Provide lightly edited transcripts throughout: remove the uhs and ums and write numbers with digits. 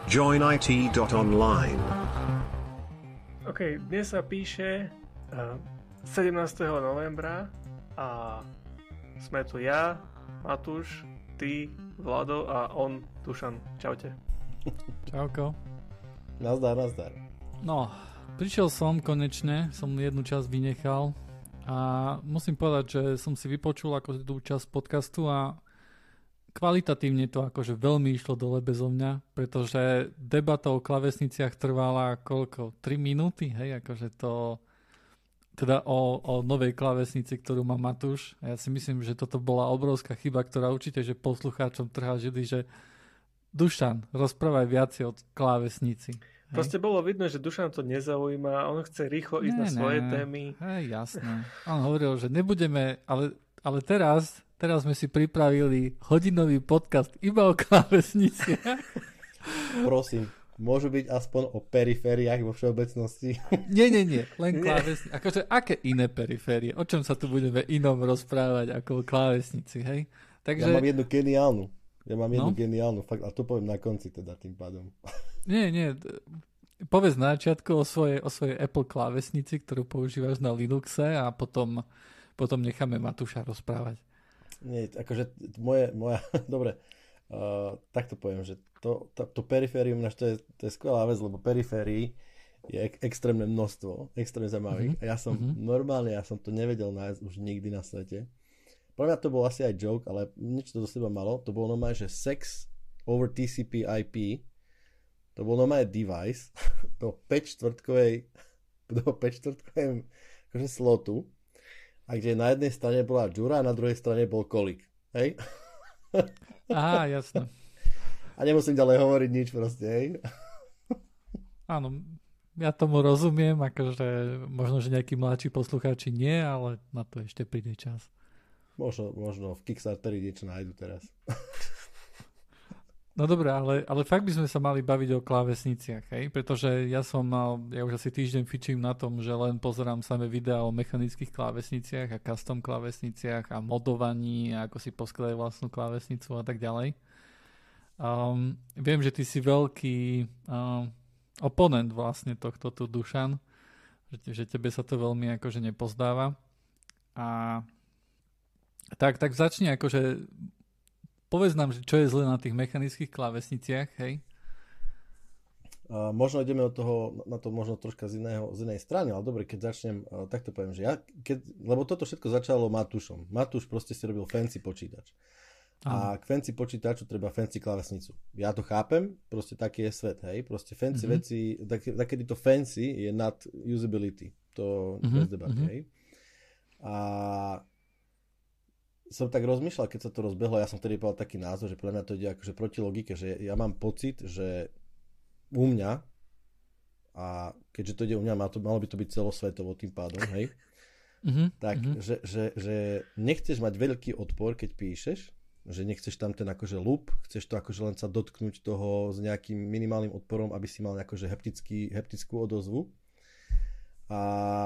joinit.online. OK, dnes sa píše 17. novembra a sme tu ja, Matúš, ty, Vlado a on, Dušan. Čaute. Čauko. Nazdar. No, prišiel som konečne, som jednu časť vynechal a musím povedať, že som si vypočul ako tú časť podcastu a kvalitatívne to akože veľmi išlo dole bezo mňa, pretože debata o klávesniciach trvala koľko? 3 minúty, hej, akože to teda o novej klávesnici, ktorú má Matúš. A ja si myslím, že toto bola obrovská chyba, ktorá určite, že poslucháčom trhá žily, že Dušan, rozprávaj viacej o klávesnici. Proste bolo vidno, že Dušan to nezaujíma, on chce rýchlo ísť na svoje témy. Hej, jasné. On hovoril, že nebudeme, ale teraz sme si pripravili hodinový podcast iba o klávesnici. Prosím, môžu byť aspoň o perifériách vo všeobecnosti? Nie, len klávesnici. Akože aké iné periférie? O čom sa tu budeme inom rozprávať ako o klávesnici, hej? Takže... Ja mám jednu geniálnu, fakt, a to poviem na konci teda tým pádom. Nie, povedz na začiatku o svojej Apple klávesnici, ktorú používaš na Linuxe a potom necháme Matúša rozprávať. Nie, akože moja dobre, tak to poviem, že to periférium, to je skvelá vec, lebo periférií je extrémne množstvo, extrémne zaujímavých. A ja som to nevedel nájsť už nikdy na svete. Pre mňa to bol asi aj joke, ale nič to do seba malo. To bolo normálne, že sex over TCP IP. To bol normálne device do 5/4 akože slotu. A kde na jednej strane bola džura a na druhej strane bol kolik. Hej? Aha, jasné. A nemusím ďalej hovoriť nič proste, hej? Áno, ja tomu rozumiem, akože možno, že nejakí mladší poslucháči nie, ale na to ešte príde čas. Možno v Kickstarteri niečo nájdu teraz. No dobré, ale fakt by sme sa mali baviť o klávesniciach, hej? Pretože ja už asi týždeň fičím na tom, že len pozerám samé videá o mechanických klávesniciach a custom klávesniciach a modovaní a ako si poskladať vlastnú klávesnicu a tak ďalej. Viem, že ty si veľký oponent vlastne tohto tu, Dušan, že tebe sa to veľmi akože nepozdáva. A tak začni akože povedz nám, čo je zle na tých mechanických klávesniciach, hej? Možno ideme na to možno troška z inej strany, ale dobre, keď začnem, tak to poviem, že lebo toto všetko začalo Matúšom. Matúš proste si robil fancy počítač. A k fancy počítaču treba fancy klávesnicu. Ja to chápem, proste taký je svet, hej? Proste fancy veci, takedy to fancy je nad usability. To bez debaty, hej? A som tak rozmýšľal, keď sa to rozbehlo, ja som vtedy povedal taký názor, že podľa mňa to ide akože proti logike, že ja mám pocit, že u mňa, a keďže to ide u mňa, malo by to byť celosvetovo tým pádom, hej, že nechceš mať veľký odpor, keď píšeš, že nechceš tam ten akože loop, chceš to akože len sa dotknúť toho s nejakým minimálnym odporom, aby si mal akože heptickú odozvu. A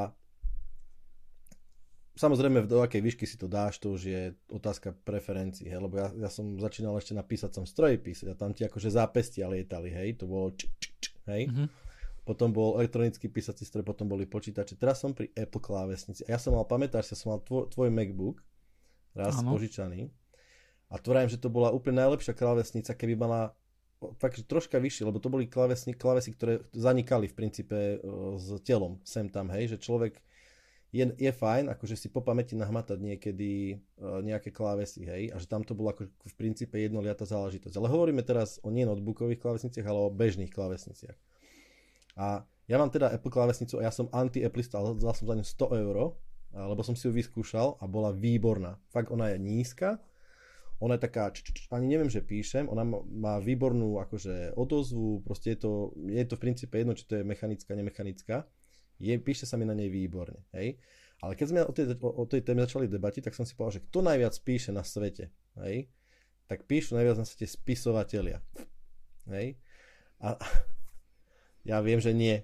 samozrejme, do akej výšky si to dáš, to už je otázka preferencií, hej, lebo ja som začínal ešte na písacom stroji písať a tam ti akože zápestia lietali, hej, to bolo hej. Potom bol elektronický písací stroj, potom boli počítače. Teraz som pri Apple klávesnici a ja som mal, pamätáš, ja som mal tvoj MacBook raz požičaný a tvrdím, že to bola úplne najlepšia klávesnica, keby mala fakt troška vyššie, lebo to boli klávesy, ktoré zanikali v princípe s telom sem tam, hej, že človek je fajn, akože si po pamäti nahmatať niekedy nejaké klávesy, hej, a že tam to bolo ako v princípe jednoliatá záležitosť. Ale hovoríme teraz o nie notebookových klávesniciach, ale o bežných klávesniciach. A ja mám teda Apple klávesnicu a ja som anti-Applista, ale dal som za ňu 100 €, lebo som si ju vyskúšal a bola výborná. Fakt ona je nízka, ona je taká, ani neviem, že píšem, ona má výbornú akože odozvu, proste je to v princípe jedno, či to je mechanická, nemechanická. Píše sa mi na nej výborne, hej. Ale keď sme o tej téme začali debatiť, tak som si povedal, že kto najviac píše na svete, hej, tak píšu najviac na svete spisovatelia, hej. A ja viem, že nie.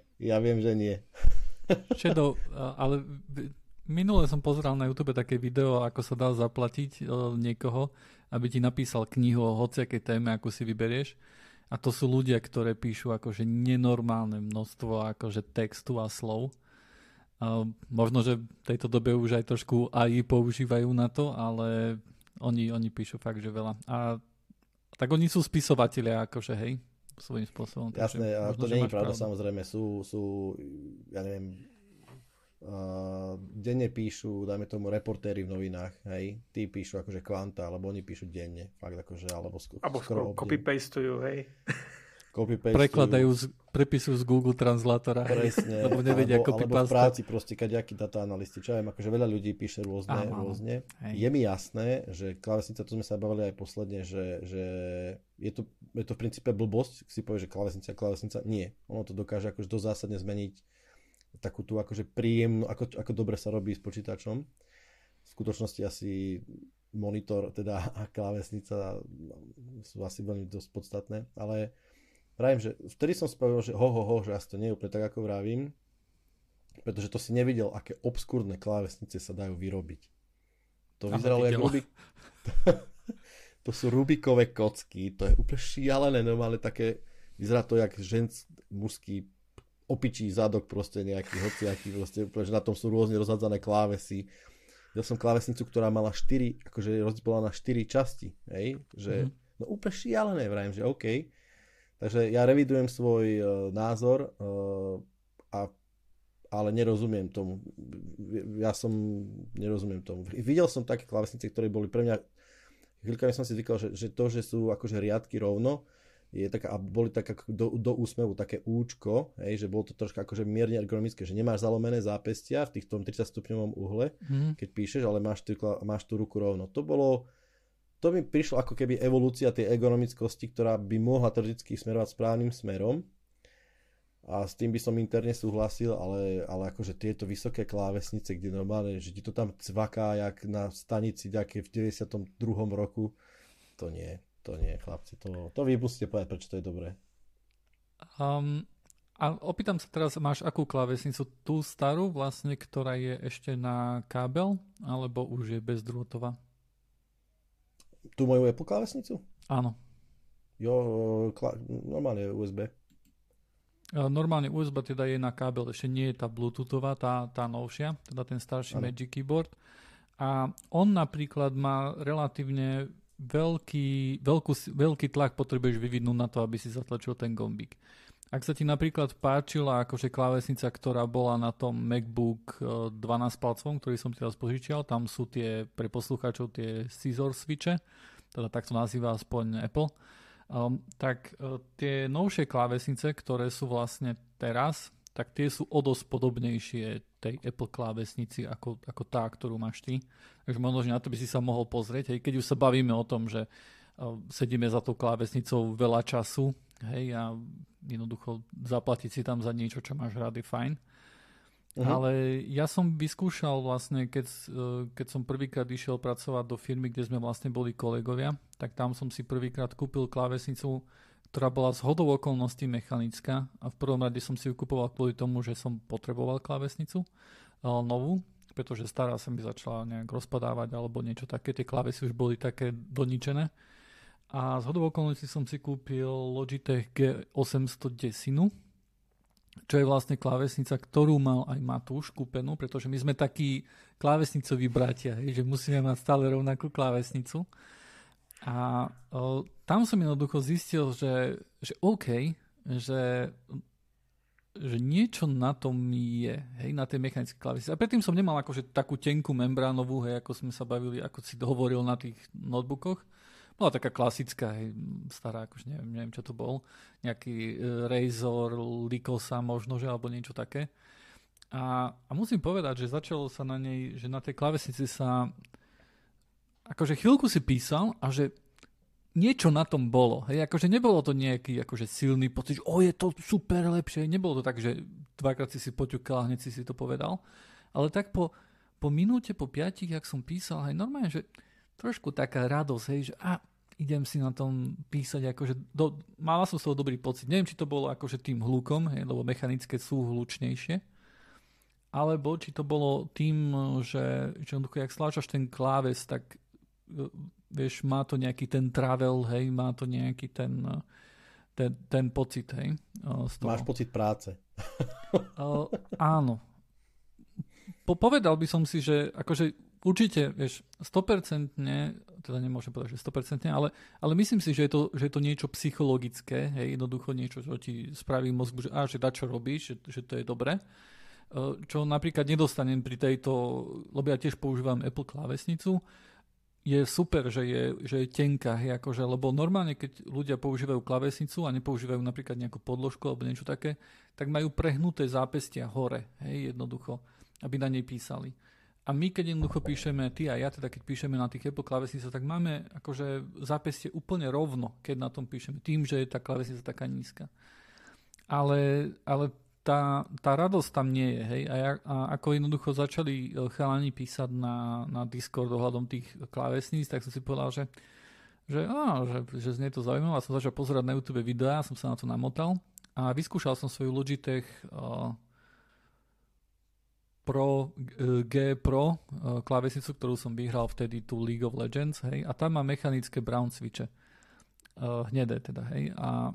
Shadow, ale minule som pozeral na YouTube také video, ako sa dá zaplatiť niekoho, aby ti napísal knihu o hociakej téme, akú si vyberieš. A to sú ľudia, ktoré píšu akože nenormálne množstvo akože textu a slov. Možno, že v tejto dobe už aj trošku AI používajú na to, ale oni píšu fakt, že veľa. A tak oni sú spisovatelia, akože hej, svojím spôsobom. Jasné, a to nie je pravda, samozrejme. Sú, ja neviem, denne píšu, dajme tomu, reportéri v novinách, hej, tí píšu akože kvanta, alebo oni píšu denne, fakt akože, alebo skoro copy-pastujú, hej. Prepisujú z Google Translatora. Presne. Lebo nevedia copy-paste. Alebo v práci proste, kadejakí data analysti, čo ja viem, akože veľa ľudí píše rôzne. Hej. Je mi jasné, že klávesnica, to sme sa bavili aj posledne, že je to v princípe blbosť, si povie, že klávesnica, nie. Ono to dokáže akože dosť zásadne zmeniť takú tú akože príjemnú, ako dobre sa robí s počítačom. V skutočnosti asi monitor, teda a klávesnica sú asi veľmi dosť podstatné, ale vravím, že vtedy som spravil, že že asi to nie je úplne tak, ako vravím, pretože to si nevidel, aké obskúrne klávesnice sa dajú vyrobiť. To vyzeralo ako to sú Rubikové kocky, to je úplne šialené, normálne také, vyzerá to jak mužský opičí zadok proste nejaký hociaký, proste úplne, že na tom sú rôzne rozhádzané klávesy. Videl som klávesnicu, ktorá mala 4, akože rozdelená na 4 časti, hej, že no úplne šialené, vravím, že OK. Takže ja revidujem svoj názor, ale nerozumiem tomu. Nerozumiem tomu. Videl som také klávesnice, ktoré boli pre mňa, chvíľkami som si zvykal, že to, že sú akože riadky rovno, je taká, a boli tak ako do úsmevu také účko, hej, že bolo to troška akože mierne ergonomické, že nemáš zalomené zápestia v tom 30 stupňovom uhle, keď píšeš, ale máš tú ruku rovno. To mi prišlo ako keby evolúcia tej ergonomickosti, ktorá by mohla teoreticky smerovať správnym smerom. A s tým by som interne súhlasil, ale akože tieto vysoké klávesnice, kde normálne, že ti to tam cvaká, jak na stanici nejaké v 92. roku, to nie, chlapci. To vy musíte povedať, prečo to je dobré. A opýtam sa teraz, máš akú klávesnicu? Tú starú vlastne, ktorá je ešte na kábel, alebo už je bezdrôtová? Tú moju Apple klávesnicu? Áno. Jo, normálne USB. Normálne USB teda je na kábel, ešte nie je tá Bluetoothová, tá novšia, teda ten starší Magic Keyboard. A on napríklad má relatívne veľký tlak potrebuješ vyvinúť na to, aby si zatlačil ten gombík. Ak sa ti napríklad páčila akože klávesnica, ktorá bola na tom MacBook 12 palcovom, ktorý som teraz požičial, tam sú tie pre poslucháčov tie scissor switche, teda tak to nazýva aspoň Apple, tak tie novšie klávesnice, ktoré sú vlastne teraz, tak tie sú o dosť podobnejšie tej Apple klávesnici ako tá, ktorú máš ty. Takže možno, že na to by si sa mohol pozrieť. Hej, keď už sa bavíme o tom, že sedíme za tou klávesnicou veľa času, hej, a jednoducho zaplatiť si tam za niečo, čo máš rád, je fajn. Ale ja som vyskúšal vlastne, keď som prvýkrát išiel pracovať do firmy, kde sme vlastne boli kolegovia, tak tam som si prvýkrát kúpil klávesnicu, ktorá bola zhodou okolností mechanická, a v prvom rade som si ju kupoval kvôli tomu, že som potreboval klávesnicu novú, pretože stará sa mi začala nejak rozpadávať alebo niečo také, tie klávesy už boli také doničené. A zhodou okolností som si kúpil Logitech G810, čo je vlastne klávesnica, ktorú mal aj Matúš kúpenú, pretože my sme takí klávesnicoví bratia, že musíme mať stále rovnakú klávesnicu. A tam som jednoducho zistil, že OK, že niečo na tom je, hej, na tej mechanické klávesnici. A predtým som nemal akože takú tenkú membránovú, hej, ako sme sa bavili, ako si hovoril na tých notebookoch. Bola taká klasická, hej, stará, akože neviem, čo to bol. Nejaký Razor, Lycosa možno, že, alebo niečo také. A musím povedať, že začalo sa na nej, že na tej klávesnici sa akože chvíľku si písal a že niečo na tom bolo. Hej, akože nebolo to nejaký akože silný pocit, že je to super lepšie. Nebolo to tak, že dvakrát si poťukal a hneď si to povedal. Ale tak po minúte, po 5, jak som písal, hej, normálne, že trošku taká radosť, hej, že idem si na tom písať, akože mala som z toho dobrý pocit. Neviem, či to bolo akože tým hlukom, hej, lebo mechanické sú hlučnejšie, alebo či to bolo tým, že jednoducho, jak stláčaš ten kláves, tak vieš, má to nejaký ten travel, hej, má to nejaký ten ten pocit, hej. Máš pocit práce. Áno. Povedal by som si, že akože určite, vieš, 100%, teda nemôžem povedať, že 100%, ale myslím si, že je to niečo psychologické, hej, jednoducho niečo, čo ti spraví mozgu, že dačo robíš, že to je dobré. Čo napríklad nedostanem pri tejto, lebo ja tiež používam Apple klávesnicu, je super, že je tenká, hej, akože, lebo normálne, keď ľudia používajú klávesnicu a nepoužívajú napríklad nejakú podložku alebo niečo také, tak majú prehnuté zápestia hore, hej, jednoducho, aby na nej písali. A my, keď jednoducho píšeme, ty a ja, teda keď píšeme na tých Apple klávesnicách, tak máme akože zápestie úplne rovno, keď na tom píšeme, tým, že je tá klávesnica taká nízka. Ale tá radosť tam nie je, hej. A ako jednoducho začali chalani písať na Discord ohľadom tých klávesníc, tak som si povedal, že znie to zaujímavé. A som začal pozerať na YouTube videá, som sa na to namotal a vyskúšal som svoju Logitech G Pro klávesnicu, ktorú som vyhral vtedy tú League of Legends, hej, a tam má mechanické brown switche. Hnedé teda, hej, a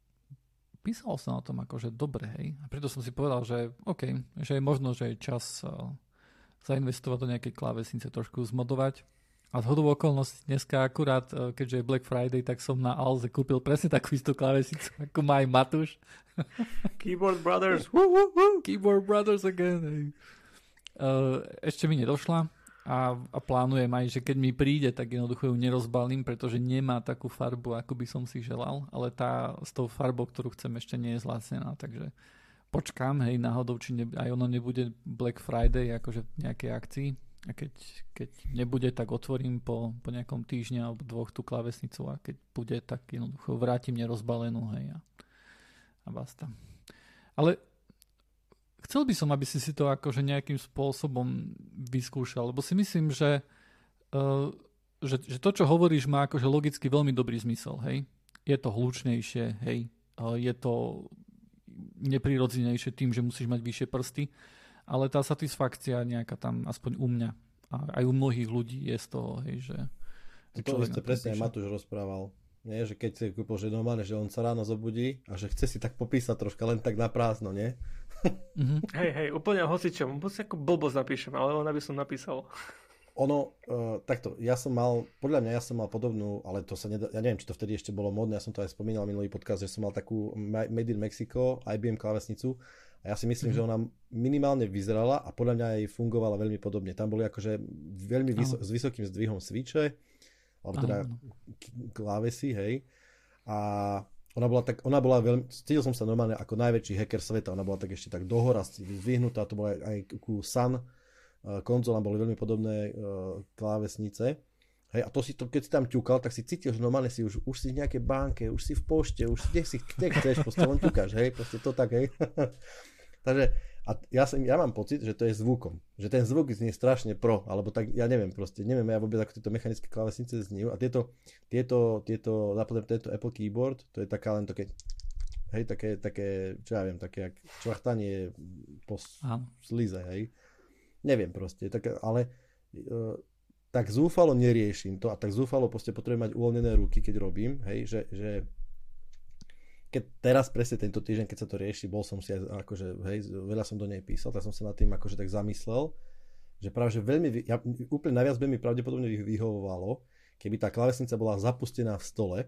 písal som o tom akože dobre, hej, a preto som si povedal, že OK, že je možno, že je čas zainvestovať do nejakej klávesnice, trošku zmodovať. A zhodou okolností dneska akurát, keďže je Black Friday, tak som na Alze kúpil presne takú istú klávesnicu, ako má aj Matúš. Keyboard Brothers. Keyboard Brothers again, hej. Ešte mi nedošla a plánujem aj, že keď mi príde, tak jednoducho ju nerozbalím, pretože nemá takú farbu, ako by som si želal, ale tá s tou farbou, ktorú chcem, ešte nie je zlacnená, takže počkám, hej, náhodou, či aj ono nebude Black Friday, akože v nejakej akcii, a keď nebude, tak otvorím po nejakom týždni alebo dvoch tú klávesnicu a keď bude, tak jednoducho vrátim nerozbalenú, hej, a basta. Ale chcel by som, aby si to akože nejakým spôsobom vyskúšal, lebo si myslím, že to, čo hovoríš, má akože logicky veľmi dobrý zmysel, hej. Je to hlučnejšie, hej. Je to neprirodzenejšie tým, že musíš mať vyššie prsty, ale tá satisfakcia nejaká tam, aspoň u mňa, a aj u mnohých ľudí je z toho, hej, že... To ste presne aj Matúš rozprával. Nie, že keď si kúpil, že normálne, že on sa ráno zobudí a že chce si tak popísať troška len tak na prázdno, nie? Hej, úplne hocičom. Musím ako blbosť napíšem, ale ona by som napísal. Ono, takto, ja som mal podobnú, ale to sa nedá, ja neviem, či to vtedy ešte bolo modné, ja som to aj spomínal minulý podcast, že som mal takú Made in Mexico IBM klávesnicu a ja si myslím, že ona minimálne vyzerala a podľa mňa aj fungovala veľmi podobne. Tam boli akože veľmi s vysokým zdvihom switche, alebo teda klávesy, hej. A ona bola veľmi, cítil som sa normálne ako najväčší hacker sveta, ona bola tak ešte tak dohora zdvihnutá, to bola aj ku Sun konzolám boli veľmi podobné klávesnice. Hej, a keď si tam ťukal, tak si cítil, že normálne si už si v nejakej banke, už si v pošte, už si kde chceš, proste len ťukáš, hej, proste to tak, hej. Takže a ja mám pocit, že to je zvukom, že ten zvuk znie strašne pro, alebo tak, ja neviem ja vôbec, ako tieto mechanické klávesnice zniejú a tieto napríklad tento Apple Keyboard, to je taká len také, hej, také, čo ja viem, také jak čvachtanie po slize, hej. Neviem proste, ale tak zúfalo neriešim to a tak zúfalo proste potrebujem mať uvoľnené ruky, keď robím, hej, že keď teraz presne tento týždeň, keď sa to rieši, bol som si aj akože, hej, veľa som do nej písal, tak som sa nad tým akože tak zamyslel, že práve, že úplne najviac by mi pravdepodobne vyhovovalo, keby tá klávesnica bola zapustená v stole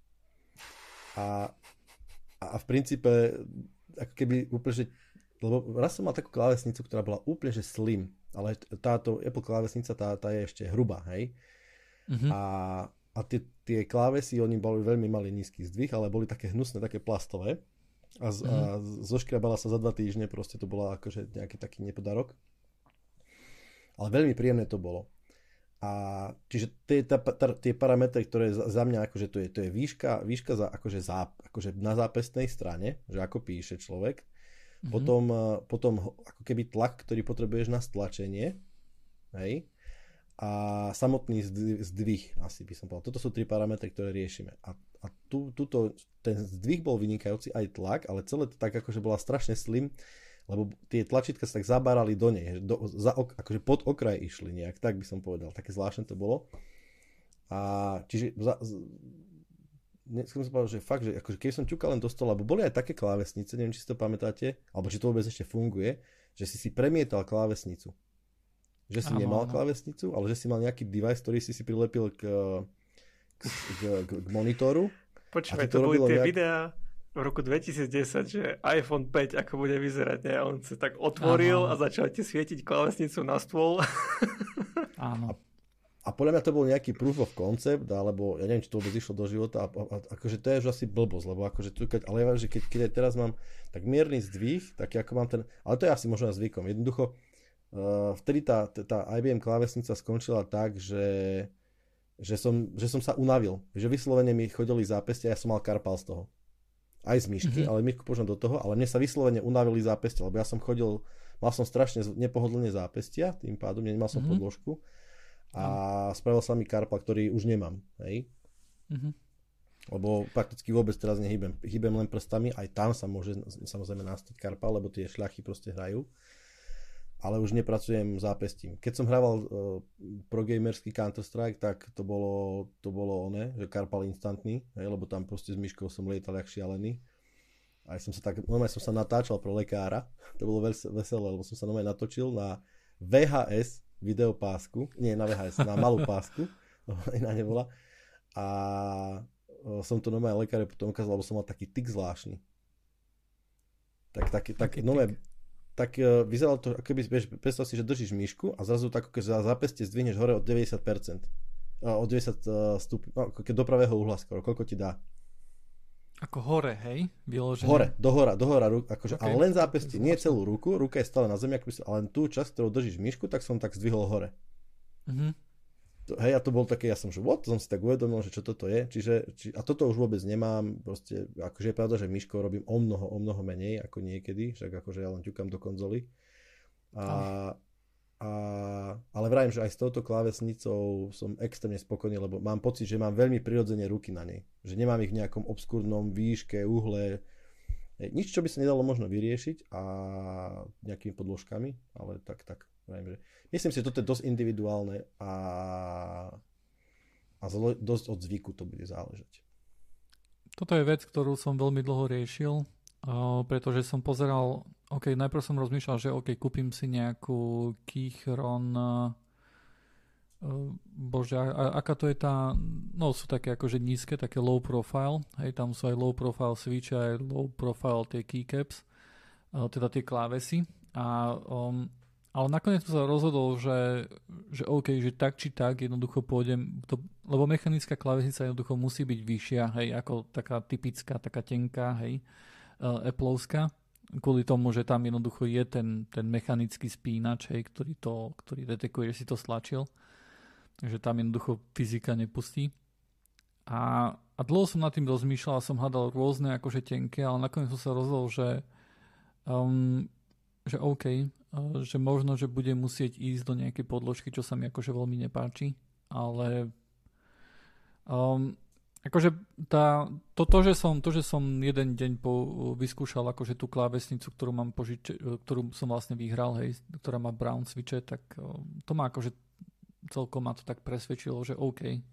a v princípe ako keby úplne, že lebo raz som mal takú klávesnicu, ktorá bola úplne že slim, ale táto Apple klávesnica, tá je ešte hrubá, hej. A tie klávesy, oni boli veľmi malý nízky zdvih, ale boli také hnusné, také plastové a zoškrabala sa za 2 týždne, proste to bola akože nejaký taký nepodarok. Ale veľmi príjemné to bolo. A čiže tie parametre, ktoré za mňa akože to je výška akože na zápestnej strane, že ako píše človek. Potom ako keby tlak, ktorý potrebuješ na stlačenie, hej, a samotný zdvih, asi by som povedal. Toto sú 3 parametre, ktoré riešime. A ten zdvih bol vynikajúci, aj tlak, ale celé to tak akože bola strašne slim, lebo tie tlačítka sa tak zabárali do nej, akože pod okraj išli nejak, tak by som povedal. Také zvláštne to bolo. A čiže som si povedal, že fakt, že akože keby som ťukal len do stola, lebo boli aj také klávesnice, neviem, či si to pamätáte, alebo či to vôbec ešte funguje, že si premietal klávesnicu. Že si nemal klávesnicu, ale že si mal nejaký device, ktorý si prilepil k monitoru. Počúvaj, to boli tie videá v roku 2010, že iPhone 5 ako bude vyzerať, ne? On sa tak otvoril a začal ti svietiť klávesnicu na stôl. Áno. A podľa mňa to bol nejaký proof of concept, alebo ja neviem, či to vôbec išlo do života, a akože to je už asi blbosť, lebo akože tu, ale ja viem, že keď aj teraz mám tak mierny zdvih, tak ako mám ten, ale to je asi možno zvykom. Jednoducho, vtedy tá IBM klávesnica skončila tak, že som sa unavil, že vyslovene mi chodili zápestia, ja som mal karpal z toho. Aj z myšky, ale myšku požím do toho, ale mne sa vyslovene unavili zápestia, lebo ja som chodil, mal som strašne nepohodlne zápestia, tým pádom nemal som podložku. A spravil sa mi karpal, ktorý už nemám, hej? Lebo prakticky vôbec teraz nehybem. Hýbem len prstami, aj tam sa môže samozrejme nastať karpal, lebo tie šľachy proste hrajú. Ale už nepracujem zápestím. Keď som hrával progamerský Counter-Strike, tak to bolo oné, že karpal instantný, hej? Lebo tam proste s myškou som lietal jak šialený. A normálne som sa natáčal pro lekára, to bolo veselé, lebo som sa normálne natočil na VHS videopásku, nie na VHS, na malú pásku, iná nebola. A som to normálne lekáre potom ukázal, lebo som mal taký tik zvláštny. Tak vyzeralo to, ako keby, predstav si, že držíš myšku a zrazu tak, keď za zápestie zdvihneš hore od 90%. Od 90 stupňov, no, keď do pravého uhla skoro, koľko ti dá? Ako hore, hej? Vyložené. Hore, dohora, akože, okay. Ale len zápestie, nie celú ruku, ruka je stále na zemi, ale len tú časť, ktorou držíš myšku, tak som tak zdvihol hore. Hej, a to bol také, ja som, že what? Som si tak uvedomil, že čo toto je, a toto už vôbec nemám, proste, akože je pravda, že myškou robím o mnoho menej, ako niekedy, však akože ja len ťukám do konzoly. Ale vravím, že aj s touto klávesnicou som extrémne spokojný, lebo mám pocit, že mám veľmi prirodzene ruky na nej. Že nemám ich v nejakom obskúrnom výške, uhle. Nič, čo by sa nedalo možno vyriešiť a nejakými podložkami, ale tak. Vravím, že myslím si, že toto je dosť individuálne a dosť od zvyku to bude záležať. Toto je vec, ktorú som veľmi dlho riešil, pretože som pozeral, najprv som rozmýšľal, že kúpim si nejakú Keychron, aká to je tá, no sú také akože nízke, také low profile, hej, tam sú aj low profile switche, aj low profile tie keycaps, teda tie klávesy, ale nakoniec som sa rozhodol, že tak či tak jednoducho pôjdem, lebo mechanická klávesnica jednoducho musí byť vyššia, hej, ako taká typická, taká tenká, hej, Appleovská, kvôli tomu, že tam jednoducho je ten mechanický spínač, hej, ktorý detekuje, že si to stlačil. Takže tam jednoducho fyzika nepustí. A dlho som nad tým rozmýšľal a som hľadal rôzne akože tenké, ale nakoniec som sa rozhodol, že možno, že budem musieť ísť do nejakej podložky, čo sa mi akože veľmi nepáči, ale akože to, že som jeden deň vyskúšal akože tú klávesnicu, ktorú som vlastne vyhral, hej, ktorá má brown switche, tak to ma akože celkom ma to tak presvedčilo, že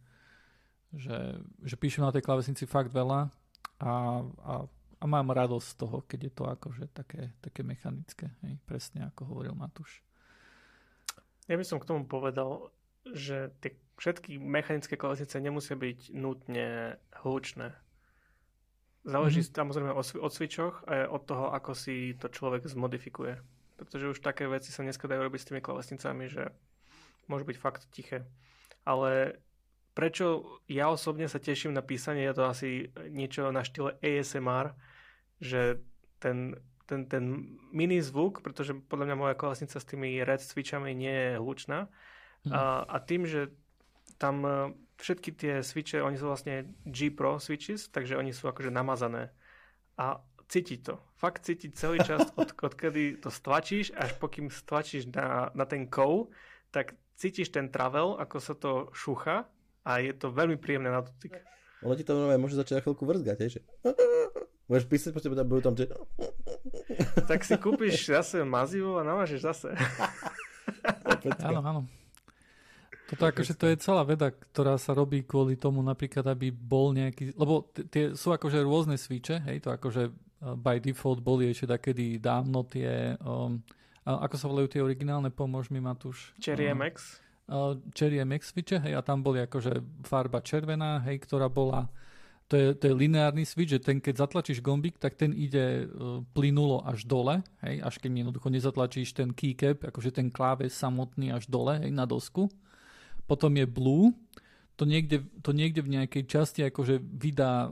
že píšem na tej klávesnici fakt veľa a mám radosť z toho, keď je to akože také mechanické, hej, presne ako hovoril Matúš. Ja by som k tomu povedal, že tie všetky mechanické klávesnice nemusia byť nutne hlučné. Záleží samozrejme od switchoch a od toho, ako si to človek zmodifikuje. Pretože už také veci sa dneska dajú robiť s tými klávesnicami, že môže byť fakt tiché. Ale prečo ja osobne sa teším na písanie, je to asi niečo na štýle ASMR, že ten mini zvuk, pretože podľa mňa moja klávesnica s tými red switchami nie je hlučná. A tým, že tam všetky tie switche, oni sú vlastne G Pro switches, takže oni sú akože namazané. A cíti to. Fakt cíti celý čas, odkedy to stlačíš, až pokým stlačíš na ten kou, tak cítiš ten travel, ako sa to šúcha a je to veľmi príjemné na dotyk. Ono ti to môže začať na chvíľku vrzgať, že? Môžeš písať, potom budú tam... Tak si kúpiš zase mazivo a namážeš zase. Áno. Toto akože to je celá veda, ktorá sa robí kvôli tomu napríklad, aby bol nejaký, lebo tie sú akože rôzne switche, hej, to akože by default boli ešte takedy dávno tie, ako sa volajú tie originálne, pomôž mi Matúš. Cherry MX. Cherry MX switche, hej, a tam boli akože farba červená, hej, ktorá bola, to je lineárny switch, že ten, keď zatlačíš gombík, tak ten ide plynulo až dole, hej, až keď jednoducho nezatlačíš ten keycap, akože ten kláves samotný až dole, hej, na dosku. Potom je blue, to niekde v nejakej časti akože vydá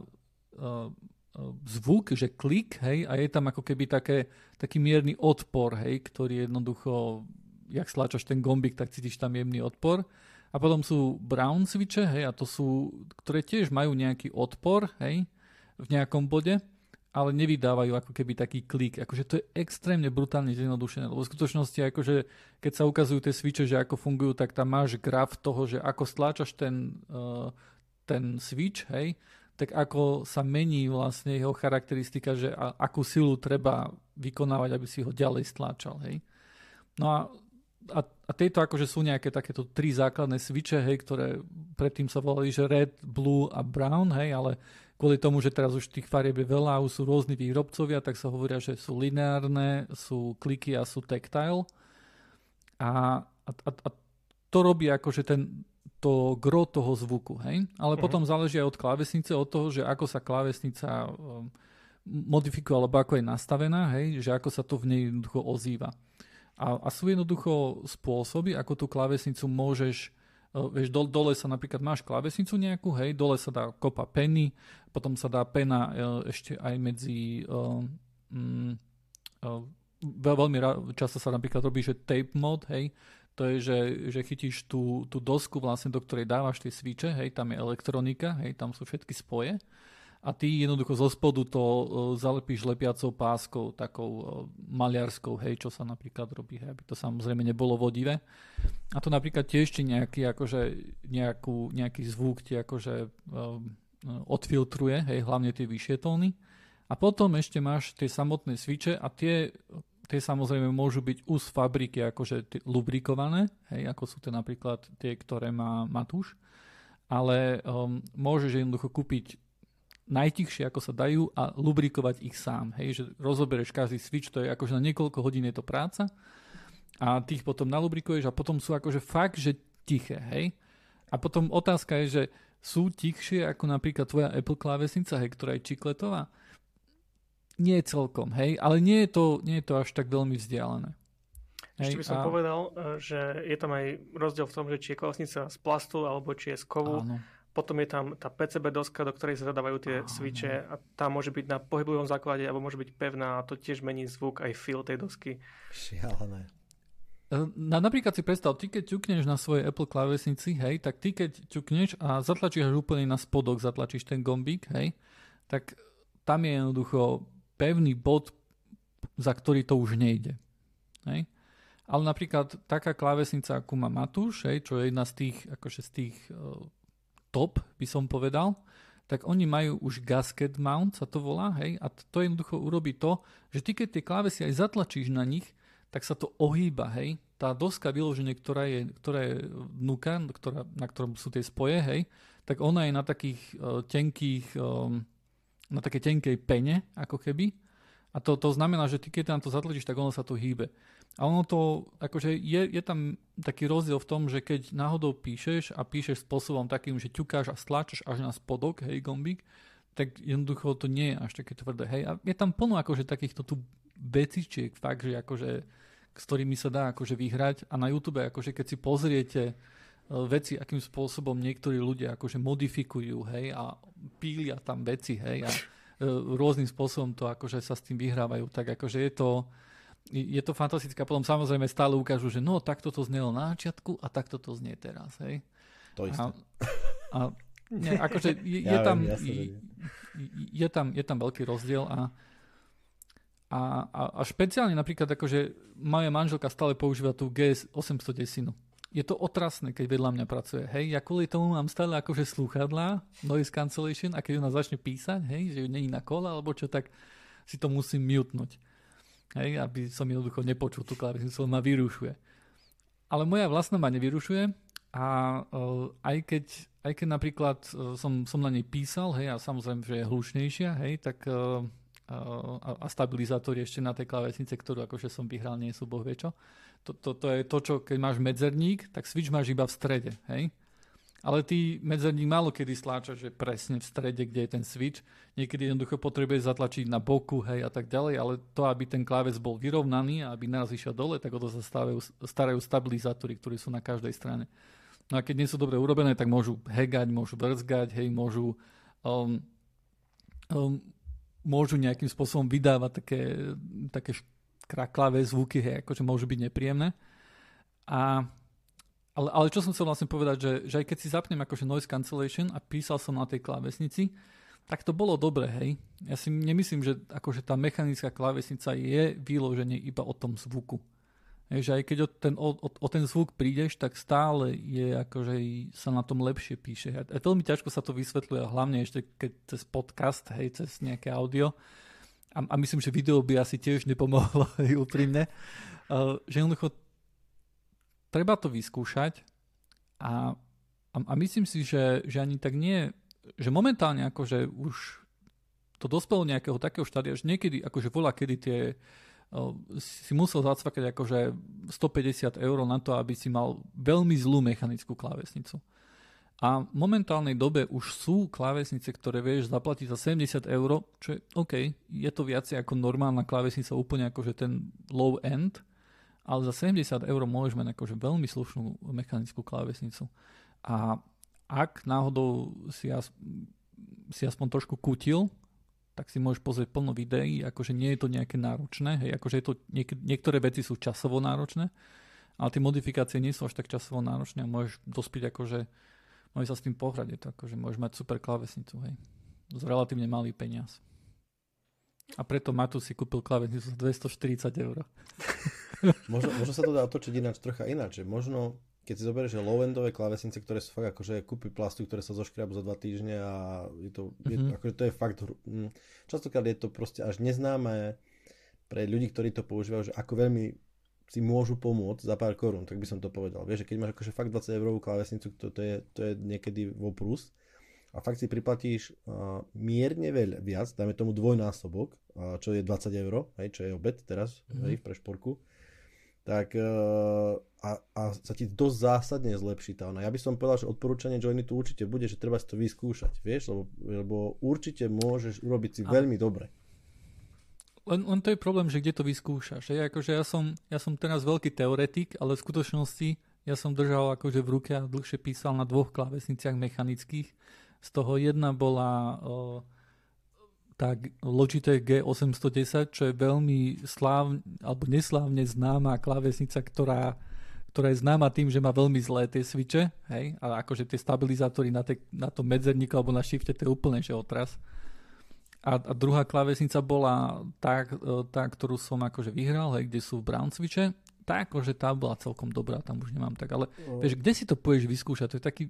zvuk, že klik, hej, a je tam ako keby taký mierny odpor, hej, ktorý jednoducho, jak stlačaš ten gombík, tak cítiš tam jemný odpor. A potom sú brown switche, hej, a to sú, ktoré tiež majú nejaký odpor, hej, v nejakom bode, ale nevydávajú ako keby taký klik. Akože to je extrémne brutálne zjednodušené, lebo v skutočnosti akože keď sa ukazujú tie switche, že ako fungujú, tak tam máš graf toho, že ako stláčaš ten switch, hej, tak ako sa mení vlastne jeho charakteristika, že akú silu treba vykonávať, aby si ho ďalej stláčal, hej. No a tieto akože sú nejaké takéto 3 základné switche, hej, ktoré predtým sa volali, že red, blue a brown, hej, ale kvôli tomu, že teraz už tých farieb je veľa, už sú rôzni výrobcovia, tak sa hovoria, že sú lineárne, sú kliky a sú tactile. A to robí akože to gro toho zvuku, hej. Ale potom záleží aj od klávesnice, od toho, že ako sa klávesnica modifikuje, alebo ako je nastavená, hej, že ako sa to v nej jednoducho ozýva. A sú jednoducho spôsoby, ako tú klávesnicu môžeš, vieš, dole sa napríklad máš klávesnicu nejakú, hej, dole sa dá kopa peny, potom sa dá pena ešte aj medzi veľmi často sa napríklad robí, že tape mod, hej, to je, že chytíš tú dosku vlastne, do ktorej dávaš tie switche, hej, tam je elektronika, hej, tam sú všetky spoje. A ty jednoducho zo spodu to zalepíš lepiacou páskou, takou maliarskou, hej, čo sa napríklad robí, hej, aby to samozrejme nebolo vodivé. A to napríklad tiež ti nejaký zvuk ti akože odfiltruje, hej, hlavne tie vyššie tóny. A potom ešte máš tie samotné switche a tie samozrejme môžu byť už z fabriky akože lubrikované, hej, ako sú to napríklad tie, ktoré má Matúš. Ale môžeš jednoducho kúpiť najtichšie, ako sa dajú a lubrikovať ich sám. Hej, že rozobereš každý switch, to je akože na niekoľko hodín je to práca a ty ich potom nalubrikuješ a potom sú akože fakt, že tiché. Hej. A potom otázka je, že sú tichšie ako napríklad tvoja Apple klávesnica, hej, ktorá je čikletová? Nie celkom, hej, ale nie je to až tak veľmi vzdialené. Ešte by som povedal, že je tam aj rozdiel v tom, že či je klávesnica z plastu alebo či je z kovu. Áno. Potom je tam tá PCB doska, do ktorej sa zadávajú tie switche a tá môže byť na pohyblivom základe alebo môže byť pevná a to tiež mení zvuk aj feel tej dosky. Šialené. Napríklad si predstav, ty keď ťukneš na svojej Apple klávesnici, hej, tak ty keď ťukneš a zatlačíš úplne na spodok, zatlačíš ten gombík, hej, tak tam je jednoducho pevný bod, za ktorý to už nejde. Hej. Ale napríklad taká klávesnica, ako má Matúš, hej, čo je jedna z tých top, by som povedal, tak oni majú už gasket mount, sa to volá, hej, a to jednoducho urobí to, že ty keď tie klávesy aj zatlačíš na nich, tak sa to ohýba, hej. Tá doska vyloženie, ktorá je vnúka, na ktorom sú tie spoje, hej, tak ona je na takých na také tenkej pene, ako keby. A to znamená, že ty keď tam to zatlačíš, tak ono sa to hýbe. A ono to, akože je tam taký rozdiel v tom, že keď náhodou píšeš a píšeš spôsobom takým, že ťukáš a stláčaš až na spodok, hej, gombík, tak jednoducho to nie je až také tvrdé, hej. A je tam plno akože takýchto tu vecičiek, fakt, že akože, s ktorými sa dá akože vyhrať. A na YouTube, akože keď si pozriete veci, akým spôsobom niektorí ľudia akože modifikujú, hej, a pília tam veci, hej, a rôznym spôsobom to akože sa s tým vyhrávajú, tak akože je to fantastické. A potom samozrejme stále ukážu, že no, takto to znelo na začiatku a takto to znie teraz, hej. To isté. Nie, akože je tam veľký rozdiel a špeciálne napríklad akože moja manželka stále používa tú GS 810. Je to otrasné, keď vedľa mňa pracuje. Hej, ja kvôli tomu mám stále akože slúchadlá, noise cancellation, a keď ona začne písať, hej, že ju není na kole alebo čo, tak si to musím mutnúť. Hej, aby som jednoducho nepočul tú klávesnicu, ma vyrušuje. Ale moja vlastná ma nevyrušuje A aj keď napríklad som na nej písal, hej, a samozrejme, že je hlučnejšia, hej, tak a stabilizátor ešte na tej klávesnice, ktorú akože som vyhral, nie sú boh vie čo. To je to, čo keď máš medzerník, tak switch máš iba v strede, hej. Ale ty medzerník málo kedy stláčaš, že presne v strede, kde je ten switch. Niekedy jednoducho potrebuješ zatlačiť na boku, hej, a tak ďalej, ale to, aby ten kláves bol vyrovnaný a aby naraz išiel dole, tak o to sa starajú stabilizátory, ktorí sú na každej strane. No a keď nie sú dobre urobené, tak môžu hegať, môžu brzgať, hej, môžu nejakým spôsobom vydávať také kraklavé zvuky, hej, akože môžu byť nepríjemné. Ale čo som chcel vlastne povedať, že aj keď si zapnem akože noise cancellation a písal som na tej klávesnici, tak to bolo dobre, hej. Ja si nemyslím, že akože tá mechanická klávesnica je vyloženie iba o tom zvuku. Hej, že aj keď o ten zvuk prídeš, tak stále je akože sa na tom lepšie píše. A veľmi ťažko sa to vysvetľuje, hlavne ešte keď cez podcast, hej, cez nejaké audio. A myslím, že video by asi tiež nepomohlo, hej, úprimne. Že jednoducho treba to vyskúšať a myslím si, že ani tak nie, že momentálne akože už to dospelo nejakého takého štádia, že niekedy akože voľa, kedy si musel zacvakať akože 150 € na to, aby si mal veľmi zlú mechanickú klávesnicu. A v momentálnej dobe už sú klávesnice, ktoré vieš zaplatiť za 70 €, čo je OK, je to viacej ako normálna klávesnica, úplne akože ten low end, ale za 70 € môžeš mať akože veľmi slušnú mechanickú klávesnicu. A ak náhodou si aspoň trošku kutil, tak si môžeš pozrieť plno videí, akože nie je to nejaké náročné, hej, akože je to niektoré veci sú časovo náročné, ale tie modifikácie nie sú až tak časovo náročné a môžeš dospieť akože, môžeš sa s tým pohrať, je to akože môžeš mať super klávesnicu, hej, z relatívne malý peniaz. A preto Matúš si kúpil klávesnicu za 240 €. Možno sa to dá otočiť ináč, trocha ináč, že možno keď si zoberieš, že low-endové klávesnice, ktoré sú fakt akože kúpy plastu, ktoré sa zoškriabu za 2 týždne a akože to je fakt, častokrát je to proste až neznáme pre ľudí, ktorí to používajú, že ako veľmi si môžu pomôcť za pár korún, tak by som to povedal. Vieš, že keď máš akože fakt 20 € klávesnicu, to je niekedy voprus a fakt si priplatíš mierne viac, dáme tomu dvojnásobok, čo je 20 €, hej, čo je obed teraz, hej, pre šporku, tak a sa ti dosť zásadne zlepší tá ona. Ja by som povedal, že odporúčanie Joiny tu určite bude, že treba si to vyskúšať, vieš, lebo určite môžeš urobiť si veľmi dobre. Len to je problém, že kde to vyskúšaš. Akože ja som teraz veľký teoretik, ale v skutočnosti ja som držal akože v ruke a dlhšie písal na 2 klávesniciach mechanických. Z toho jedna bola tá Logitech G810, čo je veľmi alebo neslávne známa klávesnica, ktorá je známa tým, že má veľmi zlé tie switche, hej, a akože tie stabilizátory na tom medzerníku alebo na shifte, to je úplne že otras. A druhá klávesnica bola tá, ktorú som akože vyhral, hej, kde sú brown switche, tá akože tá bola celkom dobrá, tam už nemám tak, ale vieš, kde si to pôjdeš vyskúšať, to je taký...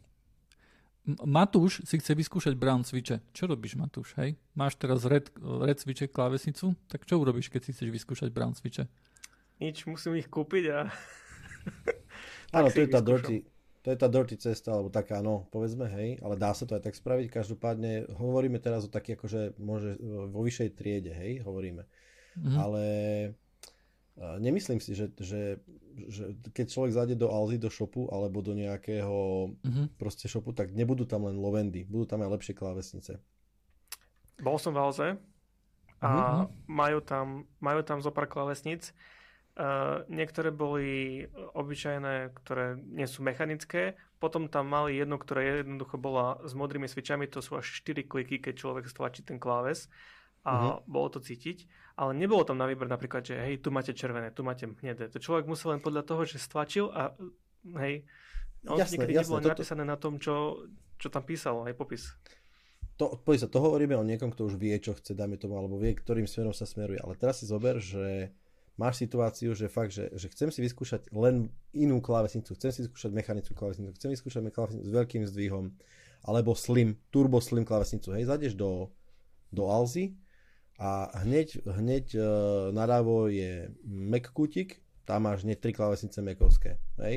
Matúš si chce vyskúšať brown switche. Čo robíš, Matúš, hej? Máš teraz red switche klávesnicu, tak čo urobíš, keď si chceš vyskúšať brown switche? Nič, musím ich kúpiť a... Áno, to je tá dirty cesta, alebo taká, no, povedzme, hej, ale dá sa to aj tak spraviť. Každopádne hovoríme teraz o taký, akože môže vo vyššej triede, hej, hovoríme. Ale nemyslím si, že keď človek zájde do Alzy, do shopu, alebo do nejakého proste shopu, tak nebudú tam len low-endy, budú tam aj lepšie klávesnice. Bol som v Alze a majú tam zo pár klávesnic. Niektoré boli obyčajné, ktoré nie sú mechanické. Potom tam mali jednu, ktorá jednoducho bola s modrými switchami. To sú až 4 kliky, keď človek stlačí ten kláves. A bolo to cítiť. Ale nebolo tam na výber napríklad, že hej, tu máte červené, tu máte hnedé. To človek musel len podľa toho, že stlačil a hej, niekedy nebolo napísané na tom, čo tam písalo, hej, popis. To hovoríme o niekom, kto už vie, čo chce, dáme tomu, alebo vie, ktorým smerom sa smeruje. Ale teraz si zober, že máš situáciu, že fakt, že chcem si vyskúšať len inú klávesnicu, chcem si vyskúšať mechanickú klávesnicu, chcem vyskúšať klávesnicu s veľkým zdvihom, alebo turbo slim klávesnicu. Hej, zájdeš do Alzy a hneď naľavo je Mac kútik, tam máš hneď 3 klávesnice Macovské. Hej.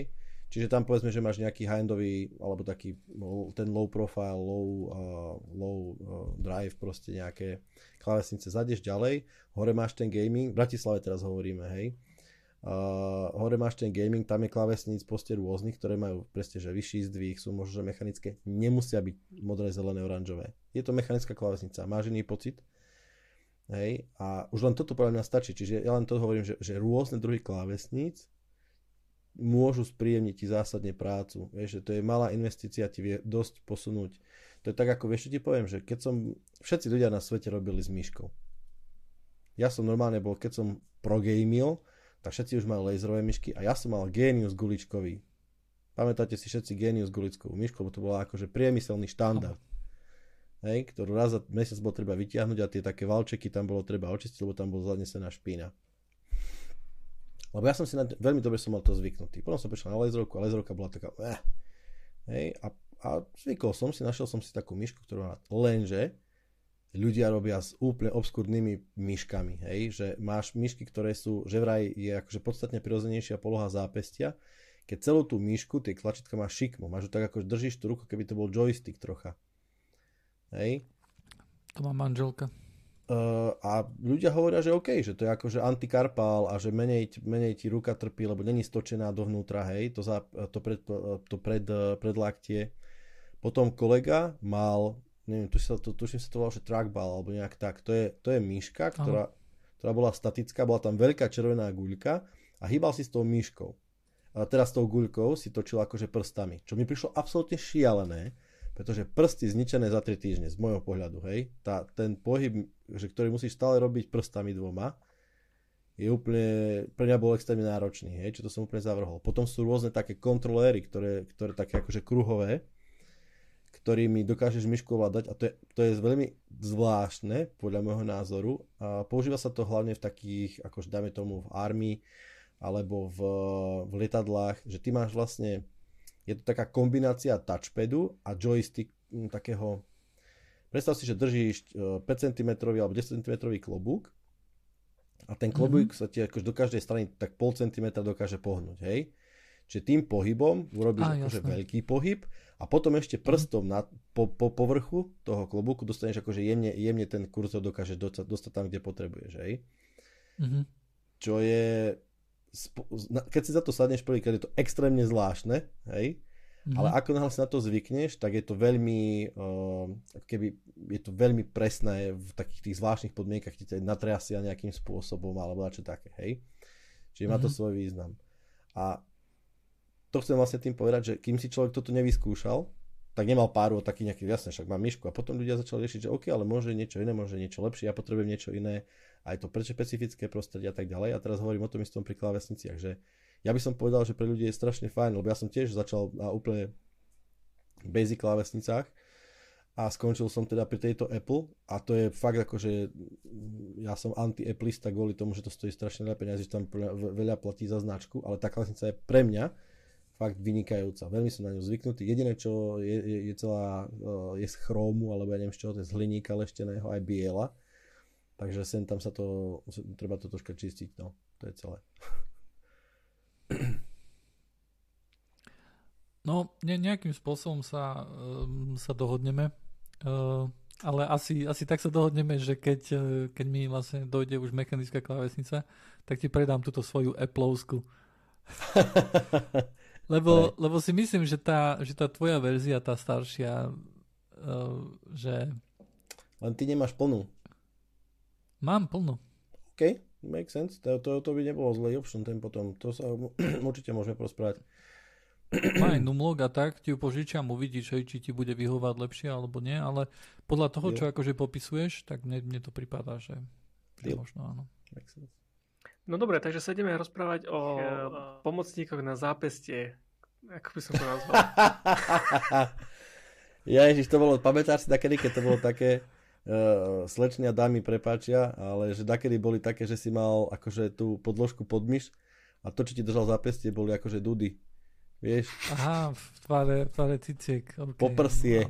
Čiže tam povedzme, že máš nejaký high-endový, alebo taký ten low profile, low drive, proste nejaké klávesnice, zadieš ďalej, hore máš ten gaming, v Bratislave teraz hovoríme, hej, hore máš ten gaming, tam je klávesníc proste rôznych, ktoré majú presne, že vyšší zdvih, sú možno, že mechanické, nemusia byť modré, zelené, oranžové. Je to mechanická klávesnica, máš iný pocit, hej, a už len toto podľa mňa stačí, čiže ja len to hovorím, že rôzne druhy klávesníc môžu spríjemniť ti zásadne prácu. Vieš, že to je malá investícia, ti vie dosť posunúť. To je tak, ako vieš, čo ti poviem, že všetci ľudia na svete robili s myškou. Ja som normálne bol, keď som progamil, tak všetci už mali laserové myšky a ja som mal Genius guličkový. Pamätáte si všetci Genius guličkovú myšku, lebo to bola akože priemyselný štandard. Hej, ktorú raz za mesiac bolo treba vytiahnuť a tie také valčeky tam bolo treba očistiť, lebo tam bola zanesená špína. Lebo ja som si veľmi dobre som mal to zvyknutý. Potom som prišiel na laserovku a laserovka bola taká hej, a zvykol som si, našiel som si takú myšku, ktorú má lenže ľudia robia s úplne obskúrnymi myškami, hej, že máš myšky, ktoré sú, že vraj je akože podstatne prirodzenejšia poloha zápestia, keď celú tú myšku, tie tlačítka máš šikmu, máš ju tak ako držíš tú ruku, keby to bol joystick trocha. Hej. To má manželka. A ľudia hovoria, že OK, že to je akože antikarpál a že menej ti ruka trpí, lebo není stočená dovnútra, hej, to predlaktie. Potom kolega mal, neviem, tuším sa to volalo, že trackball, alebo nejak tak. To je myška, ktorá bola statická, bola tam veľká červená guľka a hýbal si s tou myškou. A teraz s tou guľkou si točil akože prstami, čo mi prišlo absolútne šialené, pretože prsty zničené za 3 týždne, z môjho pohľadu, hej. Ten pohyb, že ktorý musíš stále robiť prstami dvoma, je úplne, pre mňa bol extrémne náročný, hej, čo to som úplne zavrhol. Potom sú rôzne také kontroléry, ktoré také akože kruhové, ktorými dokážeš myšku ovládať a to je veľmi zvláštne, podľa môjho názoru. A používa sa to hlavne v takých, akože dáme tomu v armii, alebo v lietadlách, že ty máš vlastne, je to taká kombinácia touchpadu a joystick takého. Predstav si, že držíš 5 cm alebo 10 cm klobúk a ten klobúk sa ti akože do každej strany tak 0,5 cm dokáže pohnúť, hej? Čiže tým pohybom urobíš akože veľký pohyb a potom ešte prstom po povrchu toho klobúku dostaneš akože jemne ten kurzor dokáže dostať tam, kde potrebuješ, hej? Čo je, keď si za to sadneš prvýkrát, je to extrémne zvláštne, hej? Ale ako náhle si na to zvykneš, tak je to veľmi je to veľmi presné v takých tých zvláštnych podmienkach, ti ťa natriasia nejakým spôsobom alebo čo také, hej. Čiže má to svoj význam. A to chcem vlastne tým povedať, že kým si človek toto nevyskúšal, tak nemal páru o taký nejaký, jasne, však mám myšku a potom ľudia začali riešiť, že OK, ale môže niečo iné, môže niečo lepšie, ja potrebujem niečo iné, aj to prečo špecifické prostredie a tak ďalej. A teraz hovorím o tom istom pri klávesniciach, že ja by som povedal, že pre ľudí je strašne fajn, lebo ja som tiež začal na úplne basic klávesnicách a skončil som teda pri tejto Apple a to je fakt ako, že ja som anti-applista kvôli tomu, že to stojí strašne veľa peniazí, že tam veľa platí za značku, ale tá klávesnica je pre mňa fakt vynikajúca. Veľmi som na ňu zvyknutý. Jediné, čo je celá je z chrómu, alebo ja neviem z čoho, to je z hliníka lešteného, aj biela. Takže sem tam sa to, treba to troška čistiť, no. To je celé. No, nejakým spôsobom sa dohodneme, ale asi tak sa dohodneme, že keď mi vlastne dojde už mechanická klávesnica, tak ti predám túto svoju Appleovsku. Lebo si myslím, že tá tvoja verzia, tá staršia, že... Len ty nemáš plnú. Mám plnú. OK, make sense. To by nebolo zlý option, ten potom. To sa určite môžeme porozprávať. Má aj numlog a tak, ti ju požičiam, uvidíš, či ti bude vyhovať lepšie alebo nie, ale podľa toho, čo akože popisuješ, tak mne to pripadá, že možno áno. No dobre, takže sa ideme rozprávať o pomocníkoch na zápestie. Ako by som to nazval? Ježiš, to bolo, pamätáš si takedy, keď to bolo také slečny a dámy prepáčia, ale že dakedy boli také, že si mal akože tú podložku pod myš a to, čo ti držal zápestie, boli akože dudy. Vieš? Aha, v tvare ciciek. Okay. Poprsie.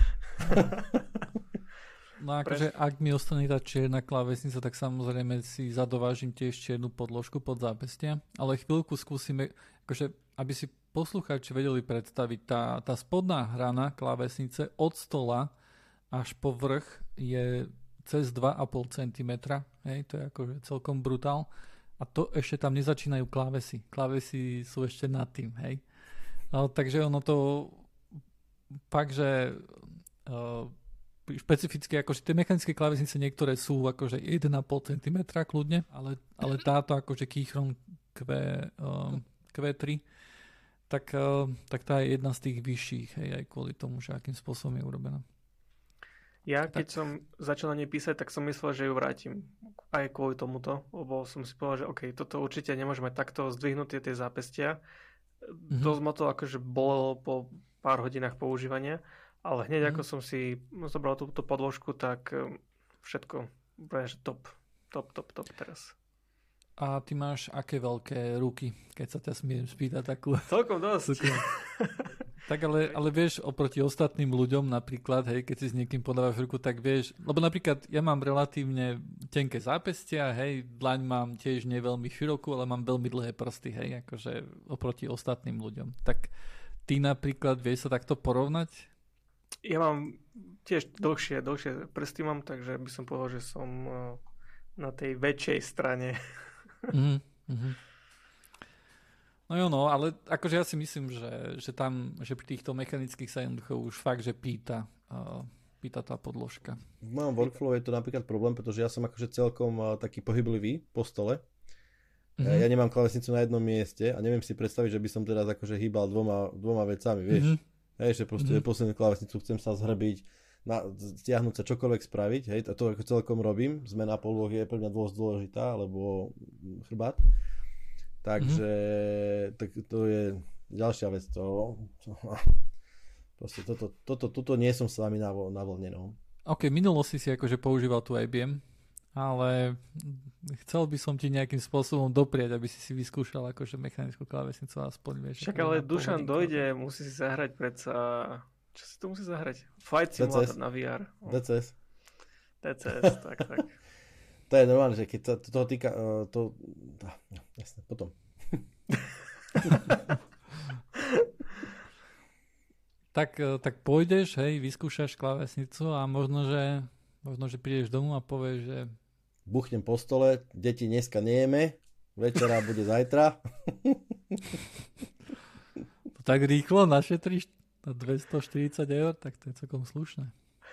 No akože, ak mi ostane tá čierna klávesnica, tak samozrejme si zadovážim tiež čiernu podložku pod zápestia, ale chvíľku skúsime, akože, aby si poslucháči vedeli predstaviť, tá spodná hrana klávesnice od stola až po vrch je cez 2,5 cm. Hej, to je akože celkom brutál. A to ešte tam nezačínajú klávesy. Klávesy sú ešte nad tým. Hej. Takže ono to fakt, že špecificky, akože tie mechanické klávesnice niektoré sú akože 1,5 cm kľudne, ale táto akože Keychron Q3 tak tá je jedna z tých vyšších, hej, aj kvôli tomu, že akým spôsobom je urobená. Ja keď som začal na nej písať, tak som myslel, že ju vrátim aj kvôli tomuto, lebo som si povedal, že OK, toto určite nemôžeme takto zdvihnuť tie zápestia. Dosť ma to akože bolelo po pár hodinách používania, ale hneď ako som si zobral túto podložku, tak všetko úplne, že top teraz. A ty máš aké veľké ruky, keď sa ťa smiem spýtať takú... Celkom dosť. Tak ale vieš, oproti ostatným ľuďom napríklad, hej, keď si s niekým podávaš ruku, tak vieš, lebo napríklad ja mám relatívne tenké zápestia, hej, dlaň mám tiež nie veľmi širokú, ale mám veľmi dlhé prsty, hej, akože oproti ostatným ľuďom. Tak ty napríklad vieš sa takto porovnať? Ja mám tiež dlhšie prsty mám, takže by som povedal, že som na tej väčšej strane. No jo, no, ale akože ja si myslím, že pri týchto mechanických sa jednoducho už fakt, že pýta tá podložka. V mojom workflow je to napríklad problém, pretože ja som akože celkom taký pohyblivý po stole. Ja nemám klávesnicu na jednom mieste a neviem si predstaviť, že by som teraz akože hýbal dvoma vecami, vieš. Hej, že proste poslednú klávesnicu chcem sa zhrbiť, stiahnuť sa, čokoľvek spraviť, hej, a to ako celkom robím. Zmena podlohy je pre mňa dosť dôležitá, alebo chrbát. Takže tak to je ďalšia vec. Proste toto nie som s vami na vlne. No. OK, minulosti si akože používal tu IBM, ale chcel by som ti nejakým spôsobom doprieť, aby si vyskúšal akože mechanickú klávesnicu aspoň. Vieš, však ale Dušan dojde, musí si zahrať predsa... Čo si to musí zahrať? Flight Simulator na VR. DCS, tak. To je normálne, že keď sa toho týka, jasne, potom. tak pôjdeš, hej, vyskúšaš klávesnicu a možno, že prídeš domov a povieš, že... Buchnem po stole, deti dneska nejeme, večera bude zajtra. To tak rýchlo našetríš na 240 €, tak to je celkom slušné.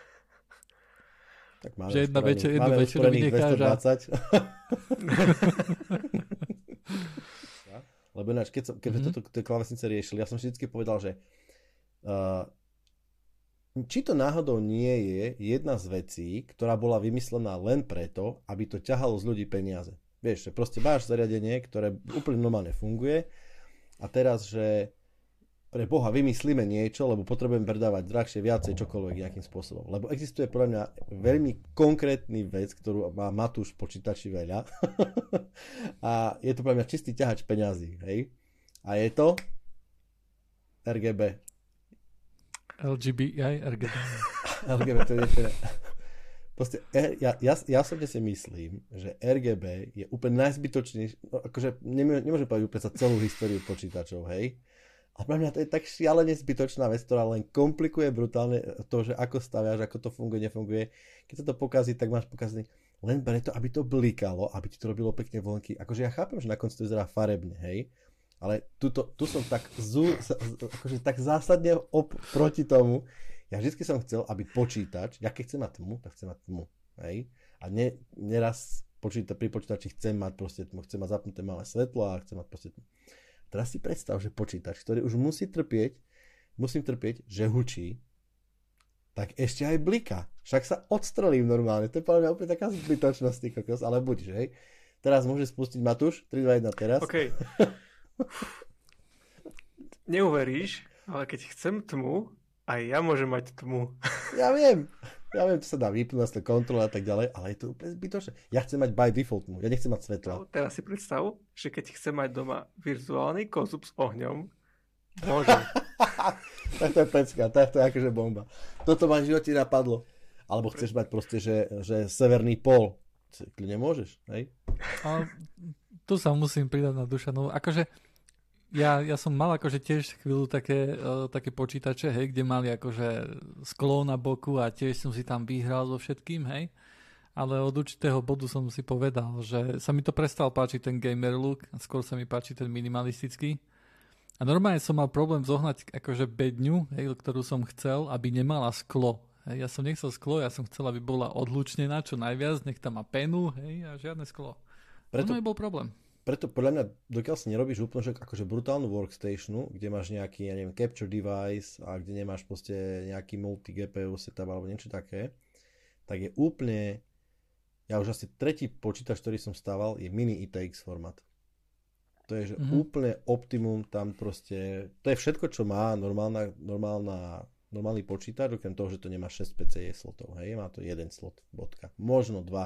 Tak máme že jednu večeru vynecháš 220. Lebo ináč, keď toto klávesnice riešili, ja som vždycky povedal, že či to náhodou nie je jedna z vecí, ktorá bola vymyslená len preto, aby to ťahalo z ľudí peniaze. Vieš, že proste máš zariadenie, ktoré úplne normálne funguje a teraz, že pre Boha vymyslíme niečo, lebo potrebujem predávať drahšie, viacej, čokoľvek nejakým spôsobom. Lebo existuje podľa mňa veľmi konkrétny vec, ktorú má Matúš v počítači veľa. A je to podľa mňa čistý ťahač peňazí. Hej? A je to RGB. RGB. RGB, to je ešte... Proste, ja osobne si myslím, že RGB je úplne najzbytočnejší, no, akože nemôžem povedať úplne za celú históriu počítačov, hej? A pre mňa to je tak šialene zbytočná vec, ktorá len komplikuje brutálne to, že ako staviaš, ako to funguje, nefunguje. Keď sa to pokazí, tak máš pokazený len preto, aby to blikalo, aby ti to robilo pekne vlnky. Akože ja chápem, že na konci to vyzerá farebne, hej? Ale tu som tak, akože tak zásadne proti tomu. Ja vždy som chcel, aby počítač, ja keď chcem mať tmu, tak chcem mať tmu, hej? A neraz pri počítači chcem mať proste tmu, chcem mať zapnuté malé svetlo a chcem mať proste tmu. Teraz si predstav, že počítač, ktorý už musím trpieť, že hučí, tak ešte aj bliká. Však sa odstrelím normálne. To je podľa mňa úplne taká zbytočnosť, kokos, ale buď, že hej. Teraz môže spustiť Matúš, 3, 2, 1 teraz. OK. Neuveríš, ale keď chcem tmu, aj ja môžem mať tmu. Ja viem, to sa dá vypnúť na kontrole a tak ďalej, ale je to úplne zbytočné. Ja chcem mať by default tmu, ja nechcem mať svetla. No, teraz si predstav, že keď chcem mať doma virtuálny konzum s ohňom, môžem. Tak to je pecka, tak to je akože bomba. Toto ma v živote napadlo. Alebo chceš mať proste, že severný pól. Kľudne môžeš, hej? A tu sa musím pridať na Dušanovu. Akože Ja som mal akože tiež chvíľu také počítače, hej, kde mali akože sklo na boku a tiež som si tam vyhral so všetkým, hej. Ale od určitého bodu som si povedal, že sa mi to prestal páčiť ten gamer look a skôr sa mi páči ten minimalistický. A normálne som mal problém zohnať akože bedňu, hej, ktorú som chcel, aby nemala sklo. Hej, ja som nechcel sklo, ja som chcel, aby bola odlučnená čo najviac, nech tam má penu, hej, a žiadne sklo. Preto nebol problém. Preto podľa mňa, dokiaľ si nerobíš úplne akože brutálnu workstationu, kde máš nejaký, ja neviem, capture device a kde nemáš proste nejaký multi-GPU setup alebo niečo také, tak je úplne, ja už asi tretí počítač, ktorý som stával, je mini ITX formát. To je, že úplne optimum tam proste, to je všetko, čo má normálny počítač, okrem toho, že to nemá 6 PCIe slotov, hej, má to jeden slot, bodka, možno 2.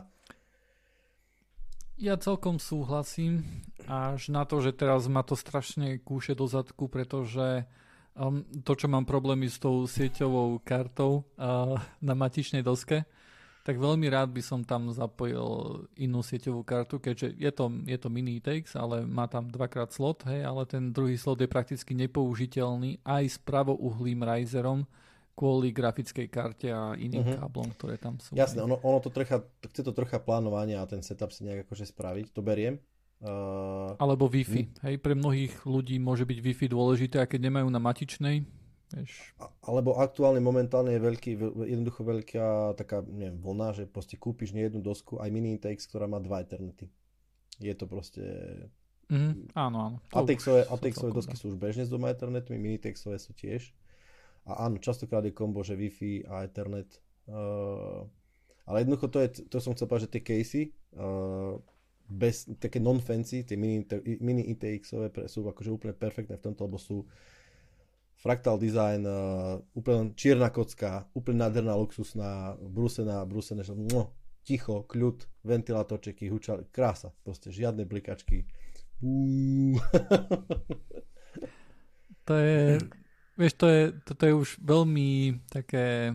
Ja celkom súhlasím, až na to, že teraz ma to strašne kúše do zadku, pretože to, čo mám problémy s tou sieťovou kartou na matičnej doske, tak veľmi rád by som tam zapojil inú sieťovú kartu, keďže je to mini ITX, ale má tam 2x slot, hej, ale ten druhý slot je prakticky nepoužiteľný aj s pravouhlým riserom kvôli grafickej karte a iným káblom, ktoré tam sú. Jasné, ono to chce to trocha plánovania a ten setup si nejak akože spraviť, to beriem. Alebo Wi-Fi. Hej, pre mnohých ľudí môže byť Wi-Fi dôležité, a keď nemajú na matičnej, vieš. Alebo aktuálne momentálne je jednoducho veľká taká, neviem, vlna, že proste kúpiš nie jednu dosku, aj mini ITX, ktorá má 2 Ethernety. Je to proste... Áno. ATX-ové dosky sú už bežne s 2 Ethernetmi, mini ITX-ové sú tiež. A áno, častokrát je kombo, že Wi-Fi a Ethernet. Ale jednoducho to som chcel povedať, že tie casey bez také non-fancy, tie mini ITX-ové sú akože úplne perfektné v tomto, lebo sú fractal design, úplne čierna kocka, úplne nádherná, luxusná, brúsené, že ticho, kľud, ventilátorčeky, hučali, krása, proste žiadne blikačky. To je... Vieš, toto je už veľmi také,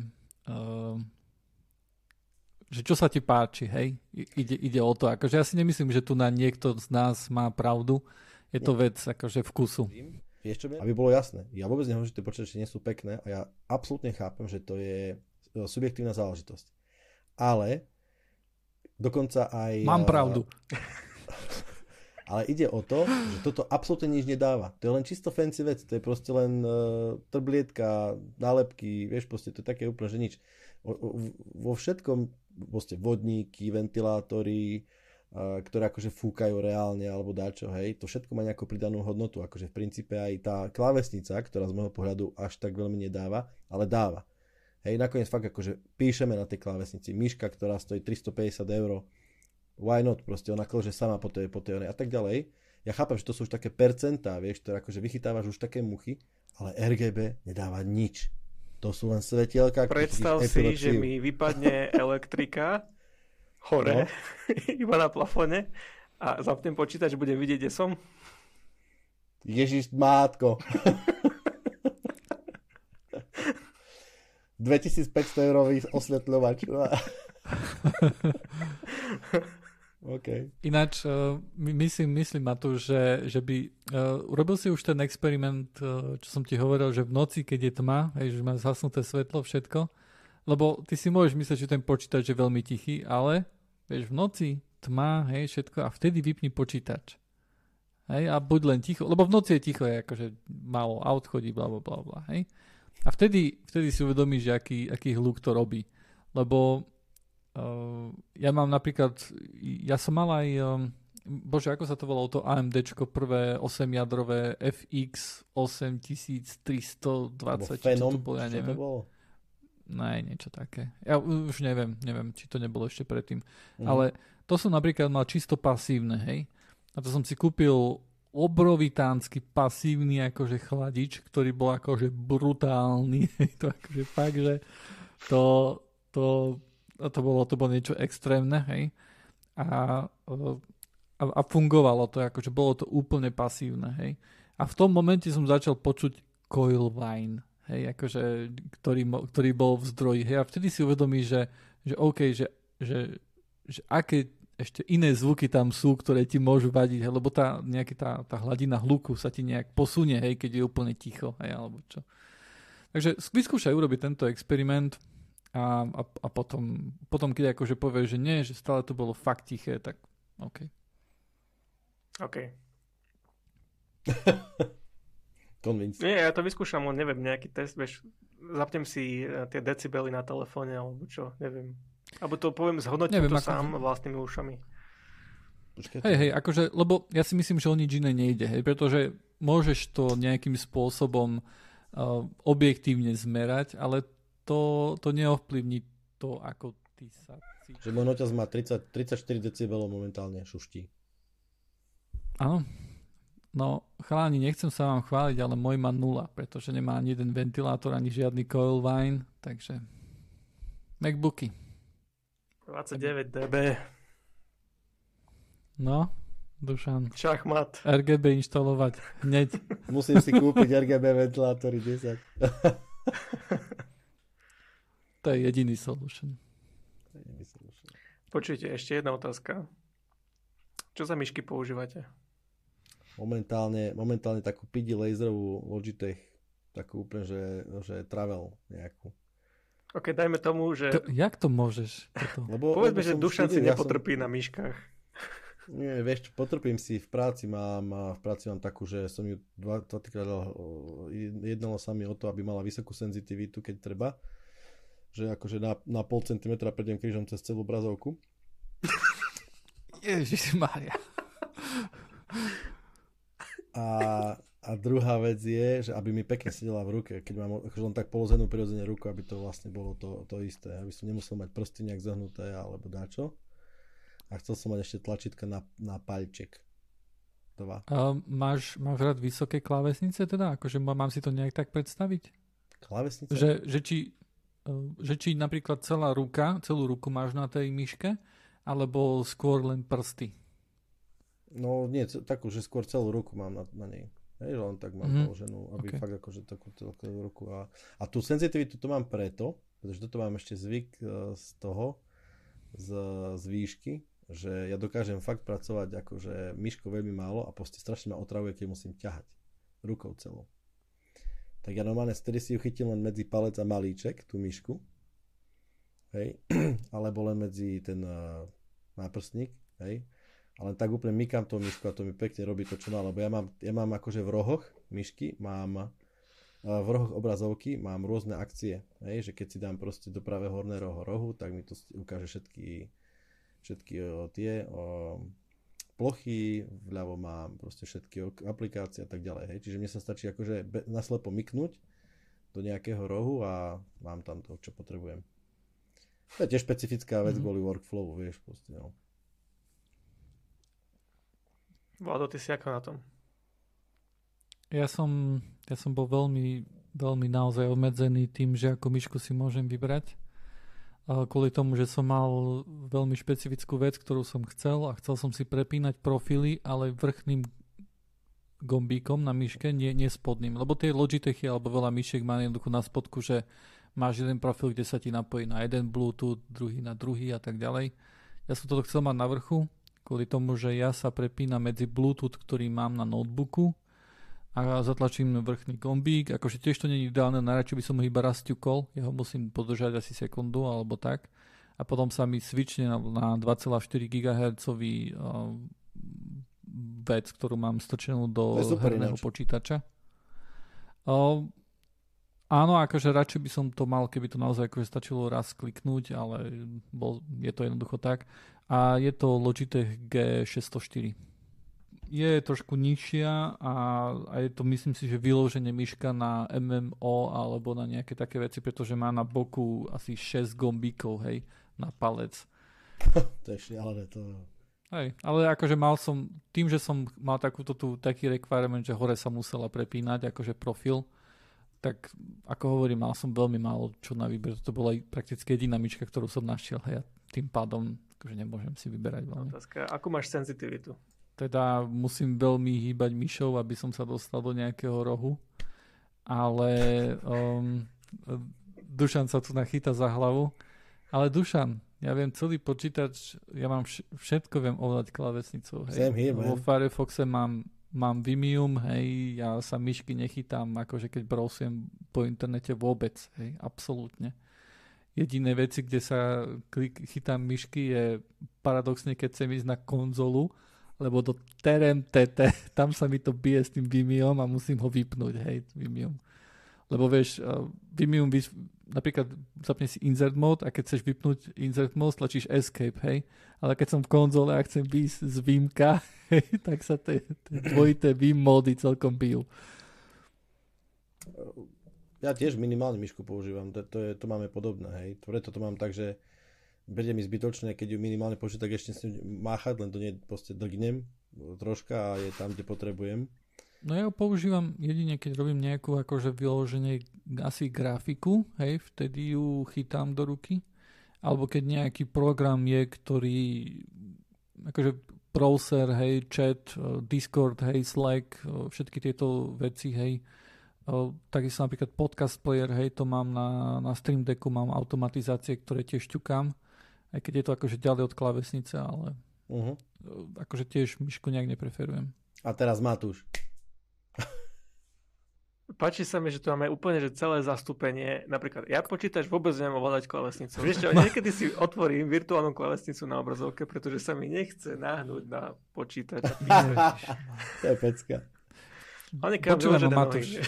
že čo sa ti páči, hej? Ide o to. Akože ja si nemyslím, že tu na niekto z nás má pravdu. Je to vec akože vkusu. Vieš čo, aby bolo jasné. Ja vôbec nehovorím, že tie počítače nie sú pekné a ja absolútne chápem, že to je subjektívna záležitosť. Ale dokonca aj... Mám pravdu. Ale ide o to, že toto absolútne nič nedáva. To je len čisto fancy vec. To je proste len trblietka, nálepky, vieš, proste to je také úplne, že nič. Vo všetkom, proste vodníky, ventilátory, ktoré akože fúkajú reálne, alebo dáčo, hej, to všetko má nejakú pridanú hodnotu. Akože v princípe aj tá klávesnica, ktorá z môjho pohľadu až tak veľmi nedáva, ale dáva. Hej, nakoniec fakt akože píšeme na tej klávesnici. Myška, ktorá stojí 350 €, why not, proste ona klože sama po tej a tak ďalej. Ja chápem, že to sú už také percentá, vieš, ktoré akože vychytávaš už také muchy, ale RGB nedáva nič. To sú len svetielka. Predstav si, že mi vypadne elektrika hore, iba na plafone a zapnem počítač, budem vidieť, kde som. Ježiš, mátko. 2500 € osvetľovač. Okay. Ináč, myslím Matúš, že by urobil si už ten experiment, čo som ti hovoril, že v noci, keď je tma, hej, že má zhasnuté svetlo, všetko, lebo ty si môžeš myslieť, že ten počítač je veľmi tichý, ale vieš, v noci tma, hej, všetko, a vtedy vypni počítač. Hej, a buď len ticho, lebo v noci je ticho, je akože málo aut chodí, blablabla, hej. A vtedy si uvedomíš, že aký hluk to robí. Lebo ja mám napríklad, ja som mal aj, bože, ako sa to volalo, to AMDčko, prvé 8-jadrové FX 8320, či to bolo, ja neviem. Ne, niečo také. Ja už neviem, či to nebolo ešte predtým. Ale to som napríklad mal čisto pasívne, hej. A to som si kúpil obrovitánsky pasívny akože chladič, ktorý bol akože brutálny. To akože fakt, že to bolo niečo extrémne, hej. A fungovalo to, akože bolo to úplne pasívne, hej. A v tom momente som začal počuť coil whine, hej, akože, ktorý bol v zdroji, hej. A vtedy si uvedomíš, že OK, že ešte iné zvuky tam sú, ktoré ti môžu vadiť, hej, lebo tá hladina hluku sa ti nejak posunie, hej, keď je úplne ticho, hej, alebo čo. Takže vyskúšaj urobiť tento experiment a potom keď akože povieš, že nie, že stále to bolo fakt tiché, tak OK. Nie, ja to vyskúšam, len neviem, nejaký test, vieš, zapnem si tie decibely na telefóne, alebo čo, neviem. Alebo to poviem, zhodnotím to sám vlastnými ušami. Hej, akože, lebo ja si myslím, že o nič iné nejde, hej, pretože môžeš to nejakým spôsobom objektívne zmerať, ale to neovplyvní to, ako ty sa cítiš. Že môj noťaz má 34 decibelov momentálne šuští. Áno. No, chalani, nechcem sa vám chváliť, ale môj má 0, pretože nemá ani jeden ventilátor, ani žiadny coil wine, takže MacBooky. 29 dB. No, Dušan. Šachmat. RGB inštalovať hneď. Musím si kúpiť RGB ventilátory 10. To je jediný solution. Počujte, ešte jedna otázka. Čo za myšky používate? Momentálne takú PD laserovú Logitech, takú úplne, že travel nejakú. OK, dajme tomu, že... Jak to môžeš? Povedzme, že Dušan si nepotrpí na myškách. Nie, vieš, potrpím si v práci. V práci mám takú, že som ju dvakrát jednalo sa mi o to, aby mala vysokú senzitivitu, keď treba. Že akože na pol centimetra prejdem krížom cez celú obrazovku. Ježišmária. A druhá vec je, že aby mi pekne sedela v ruke, keď mám akože len tak položenú prirodzene ruku, aby to vlastne bolo to isté. Aby som nemusel mať prsty nejak zahnuté alebo dáčo. A chcel som mať ešte tlačítka na palček. Máš rád vysoké klávesnice teda? Akože mám si to nejak tak predstaviť? Klávesnice? Že či napríklad celú ruku máš na tej myške, alebo skôr len prsty? No nie, takú, že skôr celú ruku mám na nej. Hej, len tak mám položenú, aby fakt akože takú celú ruku. A tú senzitivitu to mám preto, pretože toto mám ešte zvyk z výšky, že ja dokážem fakt pracovať akože myškou veľmi málo a proste strašne ma otravuje, keď musím ťahať rukou celou. Tak ja normálne vtedy si ju chytím len medzi palec a malíček, tú myšku. Hej, alebo len medzi ten náprstník, hej. Ale tak úplne mykám tú myšku a to mi pekne robí to, čo má, lebo ja mám akože v rohoch myšky, v rohoch obrazovky mám rôzne akcie, hej, že keď si dám proste do pravého horného rohu, tak mi to ukáže všetky tie plochy, vľavo mám proste všetky aplikácie a tak ďalej, hej, čiže mne sa stačí akože naslepo myknúť do nejakého rohu a mám tam to, čo potrebujem. To je tiež špecifická vec kvôli workflowu, vieš, proste, no. Vlado, ty si ako na tom? Ja som bol veľmi, veľmi naozaj obmedzený tým, že ako myšku si môžem vybrať. Kvôli tomu, že som mal veľmi špecifickú vec, ktorú som chcel a chcel som si prepínať profily, ale vrchným gombíkom na myške, nie spodným. Lebo tie Logitechy alebo veľa myšiek má jednoducho na spodku, že máš jeden profil, kde sa ti napojí na jeden Bluetooth, druhý na druhý a tak ďalej. Ja som toto chcel mať na vrchu, kvôli tomu, že ja sa prepínam medzi Bluetooth, ktorý mám na notebooku a zatlačím vrchný gombík. Akože tiež to nie je ideálne, najradšej by som ho iba raz ťukol, ja ho musím podržať asi sekundu alebo tak. A potom sa mi switchne na 2,4 GHz vec, ktorú mám strčenú do herného počítača. Áno, akože radšej by som to mal, keby to naozaj akože stačilo raz kliknúť, ale je to jednoducho tak. A je to Logitech G604. Je trošku nižšia a je to, myslím si, že vyloženie myška na MMO alebo na nejaké také veci, pretože má na boku asi 6 gombíkov, hej, na palec. To je šialené to. Hej, ale akože tým, že som mal taký requirement, že hore sa musela prepínať, akože profil, tak ako hovorím, mal som veľmi málo čo na výber. To bola prakticky jediná myška, ktorú som našiel. Hej, a tým pádom akože nemôžem si vyberať veľmi. Otázka, akú máš senzitivitu? Teda musím veľmi hýbať myšou, aby som sa dostal do nejakého rohu. Ale Dušan sa tu nachýta za hlavu. Ale Dušan, Ja viem celý počítač, ja mám všetko viem ovládať klávesnicou. Same here, Vo Firefoxe mám Vimium, hej, ja sa myšky nechytám, akože keď browsujem po internete vôbec, hej, absolútne. Jediné veci, kde sa chytám myšky je paradoxne, keď chcem ísť na konzolu, lebo do TRMTT, tam sa mi to bije s tým Vimium a musím ho vypnúť, hej, Vimium. Lebo vieš, Vimium, napríklad zapne si insert mode a keď chceš vypnúť insert mode, tlačíš escape, hej. Ale keď som v konzole a chcem výjsť z Vimka, hej, tak sa tie dvojité Vim módy celkom bijú. Ja tiež minimálne myšku používam, to máme podobné, hej. Preto to mám tak, že bude mi zbytočné, keď ju minimálne počuť, tak ešte s ním máchať, len to nie proste dlgnem troška a je tam, kde potrebujem. No ja ho používam jedine, keď robím nejakú akože vyloženie asi grafiku, hej, vtedy ju chytám do ruky. Alebo keď nejaký program je, ktorý akože browser, hej, chat, Discord, hej, Slack, všetky tieto veci, hej. Takisto napríklad podcast player, hej, to mám na Stream Decku, mám automatizácie, ktoré tiež ťukám, aj keď je to akože ďalej od klávesnice, ale akože tiež myšku nejak nepreferujem. A teraz Matúš. Páči sa mi, že tu máme úplne že celé zastúpenie. Napríklad, ja počítač vôbec neviem ovládať klávesnicu. Vieš čo, niekedy si otvorím virtuálnu klávesnicu na obrazovke, pretože sa mi nechce náhnuť na počítač. To je pecka. Počúvam, Matúš.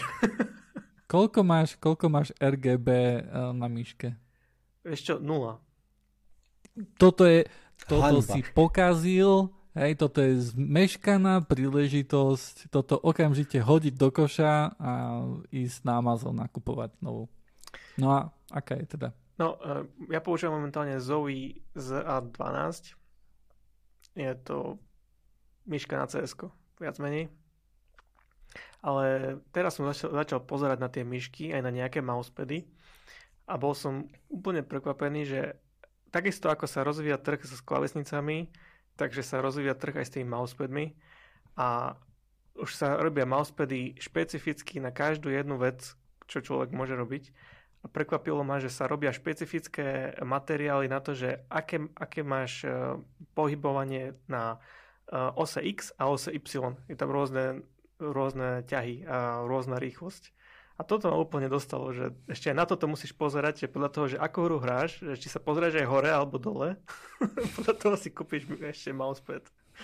Koľko máš RGB na myške? Vieš čo, 0. Toto si pokazil. Hej, toto je zmeškaná príležitosť toto okamžite hodiť do koša a ísť na Amazon nakupovať novú. No a aká je teda? No, ja používam momentálne Zoe ZA12. Je to myška na CS-ko, viac menej. Ale teraz som začal pozerať na tie myšky, aj na nejaké mousepady a bol som úplne prekvapený, že takisto ako sa rozvíja trh s klávesnicami, takže sa rozvíja trh aj s tými mousepadmi a už sa robia mousepady špecificky na každú jednu vec, čo človek môže robiť. A prekvapilo ma, že sa robia špecifické materiály na to, že aké máš pohybovanie na ose X a ose Y. Je tam rôzne ťahy a rôzna rýchlosť. A toto ma úplne dostalo, že ešte aj na toto musíš pozerať, že podľa toho, že ako hru hráš, že či sa pozrieš aj hore alebo dole, podľa toho si kúpiš ešte mousepad.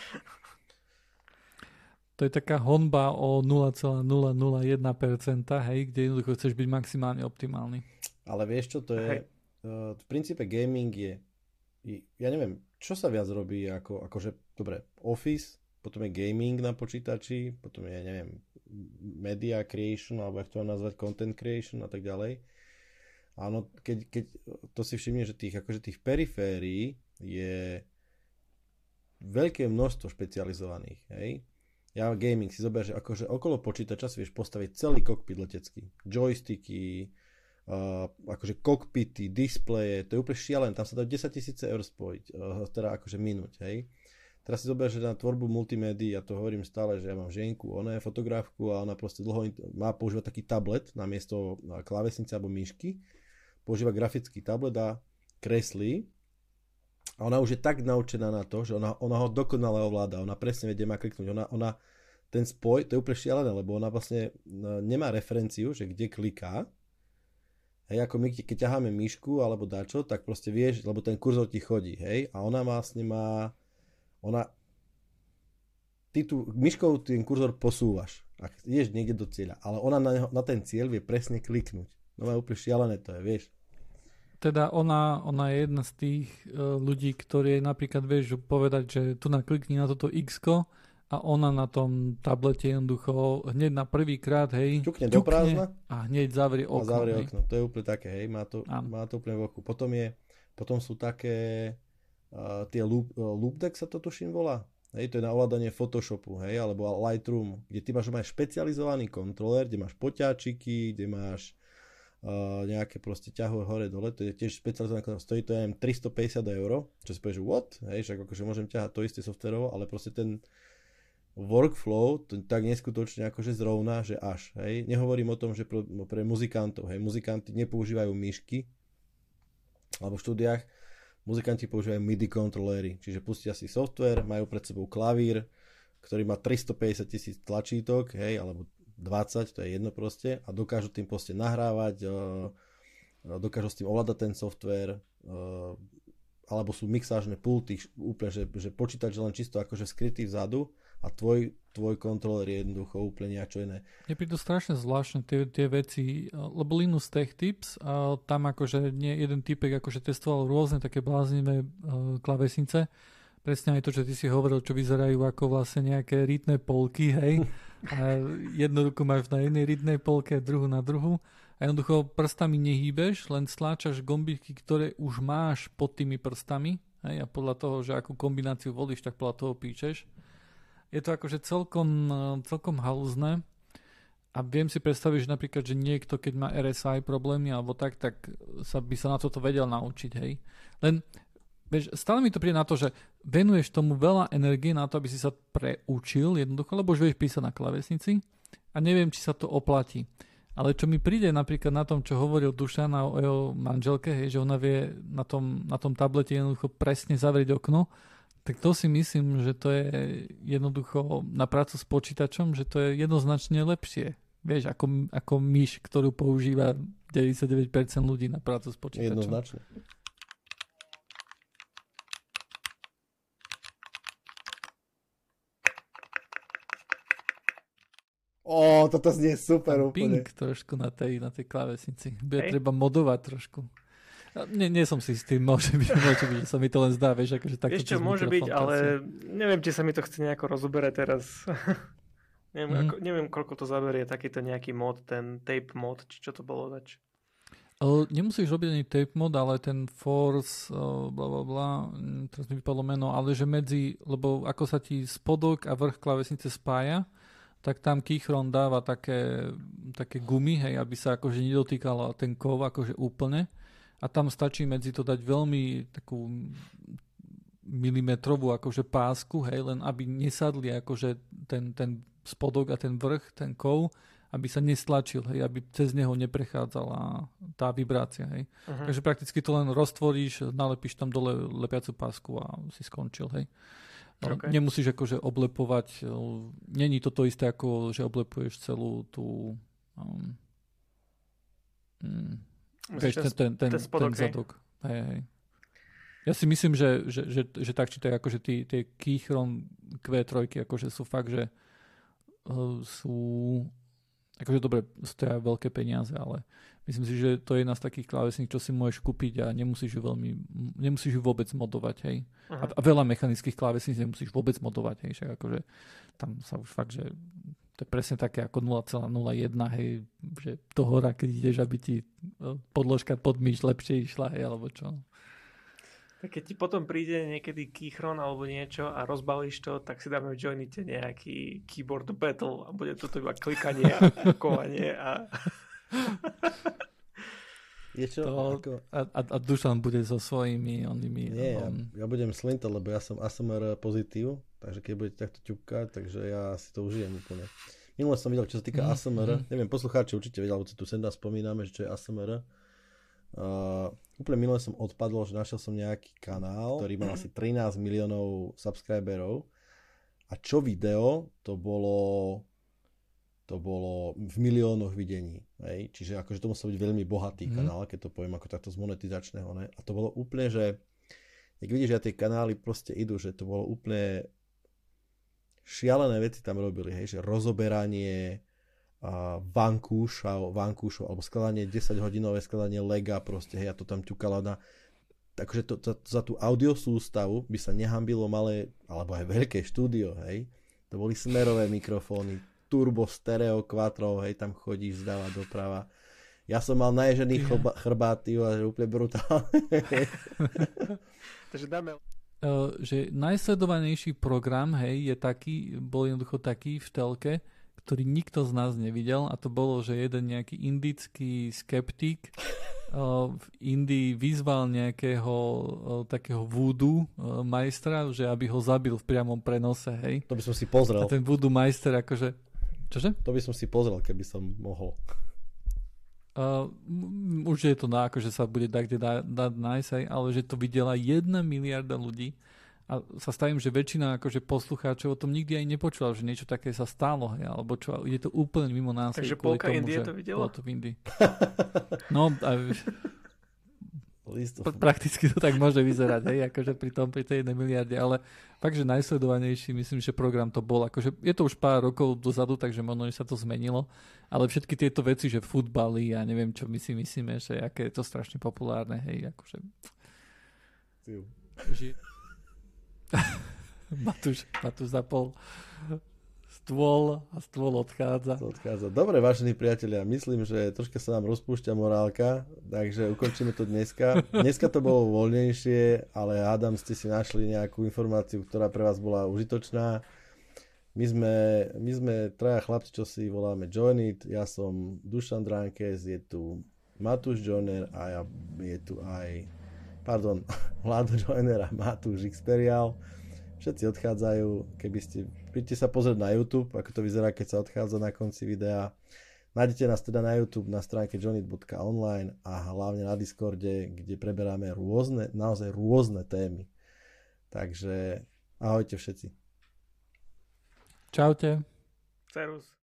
To je taká honba o 0,001%, hej, kde jednoducho chceš byť maximálne optimálny. Ale vieš čo, to je, v princípe gaming je, ja neviem, čo sa viac robí akože, dobre, Office, potom je gaming na počítači, potom je, neviem, media creation, alebo jak to mám nazvať, content creation a tak ďalej. Áno, keď to si všimne, že tých periférií je veľké množstvo špecializovaných, hej. Ja gaming si zober, že akože okolo počítača si vieš postaviť celý kokpit letecký. Joysticky, akože kokpity, displeje, to je úplne šialené, tam sa dá 10 000 eur spojiť, teda akože minúť, hej. Teraz si zober, že na tvorbu multimédií, ja to hovorím stále, že ja mám ženku, ona je fotografku a ona proste dlho má používať taký tablet namiesto klávesnice alebo myšky. Používa grafický tablet a kreslí. A ona už je tak naučená na to, že ona ho dokonale ovláda. Ona presne vie, kde má kliknúť. Ona ten spoj, to je úplne šialené, lebo ona vlastne nemá referenciu, že kde kliká. Hej, ako my, keď ťaháme myšku alebo dačo, tak proste vieš, lebo ten kurzor ti chodí, hej. A ona vlastne má ty tu myškou ten kurzor posúvaš a ideš niekde do cieľa, ale ona na ten cieľ vie presne kliknúť. No je úplne šialené to je, vieš. Teda ona je jedna z tých ľudí, ktorí napríklad vieš povedať, že tu naklikni na toto X-ko a ona na tom tablete jednoducho hneď na prvý krát, hej, ťukne do prázdna a hneď zavrie okno. A zavrie okno, to je úplne také, hej, má to úplne v oku. Potom sú také tie Loopdeck sa to tuším volá. Hej, to je na ovládanie Photoshopu, hej, alebo Lightroom, kde ty máš špecializovaný kontroler, kde máš poťáčiky, kde máš nejaké proste ťahové hore dole, to je tiež špecializované kontroler, stojí to ja neviem 350 eur, čo si povieš, what? Hej, však akože môžem ťahať to isté softverovo, ale proste ten workflow to tak neskutočne akože zrovna, že až, hej. Nehovorím o tom, že pre muzikantov, hej, muzikanti nepoužívajú myšky, alebo v štúdiách muzikanti používajú MIDI kontroléry, čiže pustia si software, majú pred sebou klavír, ktorý má 350 000 tlačítok, hej, alebo 20, to je jedno proste, a dokážu tým proste nahrávať, dokážu s tým ovládať ten software, alebo sú mixážne pulty, úplne, že počítač je len čisto akože skrytý vzadu a tvoj kontroler je jednoducho úplne niečo iné. Je prídu strašne zvláštne tie veci, lebo Linus Tech Tips, tam akože nie jeden typek akože testoval rôzne také bláznivé klávesnice, presne aj to, čo ty si hovoril, čo vyzerajú ako vlastne nejaké rytné polky, hej, a jednu ruku máš na jednej rytnej polke, druhú na druhú. A jednoducho prstami nehýbeš, len stláčaš gombiky, ktoré už máš pod tými prstami, hej, a podľa toho, že akú kombináciu volíš, tak podľa toho píčeš. Je to akože celkom halúzne a viem si predstaviť, že napríklad, že niekto, keď má RSI problémy alebo tak by sa na toto vedel naučiť, hej. Len, vieš, stále mi to príde na to, že venuješ tomu veľa energie na to, aby si sa preučil jednoducho, lebo už vieš písať na klávesnici a neviem, či sa to oplatí. Ale čo mi príde napríklad na tom, čo hovoril Dušan o jeho manželke, hej, že ona vie na tom tablete jednoducho presne zavrieť okno, tak to si myslím, že to je jednoducho na prácu s počítačom, že to je jednoznačne lepšie. Vieš, ako myš, ktorú používa 99% ľudí na prácu s počítačom. Jednoznačne. Toto znie super úplne. Ping trošku na tej klávesnici. Bude treba modovať trošku. Nie som si s tým, môže byť, že sa mi to len zdá, vieš, akože takto. Ešte môže byť, ale neviem, či sa mi to chce nejako rozoberať teraz. neviem, koľko to zaberie takýto nejaký mod, ten tape mod, či čo to bolo zač. Nemusíš robiť ani tape mod, ale ten force, blablabla, teraz mi vypadlo meno, ale že lebo ako sa ti spodok a vrch klávesnice spája, tak tam Keychron dáva také gumy, hej, aby sa akože nedotýkala ten kov akože úplne. A tam stačí medzi to dať veľmi takú milimetrovú akože pásku, hej, len aby nesadli akože ten spodok a ten vrch, ten kov, aby sa nestlačil, hej, aby cez neho neprechádzala tá vibrácia, hej. Uh-huh. Takže prakticky to len roztvoríš, nalepíš tam dole lepiacu pásku a si skončil, hej. Okay. Nemusíš akože oblepovať, není to isté ako, že oblepuješ celú tú ten zadok. Hej. Ja si myslím, že tak či tak akože tie Keychron Q3 akože sú fakt, že sú akože dobre, stoja veľké peniaze, ale myslím si, že to je jedna z takých klávesníc, čo si môžeš kúpiť a nemusíš ju vôbec modovať, hej. Uh-huh. A veľa mechanických klávesníc nemusíš vôbec modovať, hej, však akože tam sa už fakt, že to je presne také ako 0,01, hej, že do hora, keď ideš, aby ti podložka pod myš lepšie išla, hej, alebo čo. Tak keď ti potom príde niekedy Keychron alebo niečo a rozbalíš to, tak si dáme v Joinite nejaký keyboard battle a bude to iba klikanie a kukovanie a... Je čo? A Dušan bude so svojimi onými... Nie, ja budem slintať, lebo ja som ASMR pozitív, takže keď budete takto ťupkať, takže ja si to užijem úplne. Minule som videl, čo sa týka ASMR, neviem, poslucháči určite vedel, lebo tu sem spomíname, že čo je ASMR. Úplne minule som odpadol, že našiel som nejaký kanál, ktorý mal asi 13 miliónov subscriberov a čo video, to bolo v miliónoch videní. Hej? Čiže akože to musel byť veľmi bohatý kanál, keď to poviem ako takto z monetizačného. Ne? A to bolo úplne, že jak vidíš, že tie kanály proste idú, že to bolo úplne šialené veci tam robili, hej? Že rozoberanie vankúšov alebo skladanie 10-hodinové skladanie lega proste, hej, a to tam ťukalo na takže za tú audiosústavu by sa nehambilo malé alebo aj veľké štúdio, hej, to boli smerové mikrofóny, turbo, stereo, quattro, hej, tam chodíš zdáva doprava. Ja som mal naježený chrbáty a úplne brutálne. Takže dáme že najsledovanejší program, hej, bol jednoducho taký v telke, ktorý nikto z nás nevidel a to bolo, že jeden nejaký indický skeptik v Indii vyzval nejakého takého voodoo majstra, že aby ho zabil v priamom prenose, hej. To by som si pozrel. A ten voodoo majster akože... Čože? To by som si pozrel, keby som mohol. Už je to akože sa bude dať nájsť, ale že to videla 1 miliarda ľudí a sa stavím, že väčšina akože poslucháčov o tom nikdy aj nepočula, že niečo také sa stalo, alebo čo, je to úplne mimo nás. Takže polka Indie to videla? To v Indii. No, prakticky to tak môže vyzerať, hej, akože pri tej 1 miliarde, ale fakt, že najsledovanejší, myslím, že program to bol, akože je to už pár rokov dozadu, takže možno, že sa to zmenilo, ale všetky tieto veci, že futbaly a neviem, čo my si myslíme, že aké je to strašne populárne, hej, akože... Matúš zapol stôl a stôl odchádza. Dobre, vážení priatelia, myslím, že troška sa nám rozpúšťa morálka, takže ukončíme to dneska. Dneska to bolo voľnejšie, ale hádam, ste si našli nejakú informáciu, ktorá pre vás bola užitočná. My sme traja chlapci, čo si voláme Join It. Ja som Dušan Dránkez, je tu Matúš Joiner a je tu aj Vlado Joiner a Matúš Xperial. Všetci odchádzajú, príďte sa pozrieť na YouTube, ako to vyzerá, keď sa odchádza na konci videa. Nájdete nás teda na YouTube na stránke joinit.online a hlavne na Discorde, kde preberáme naozaj rôzne témy. Takže ahojte všetci. Čaute. Servus.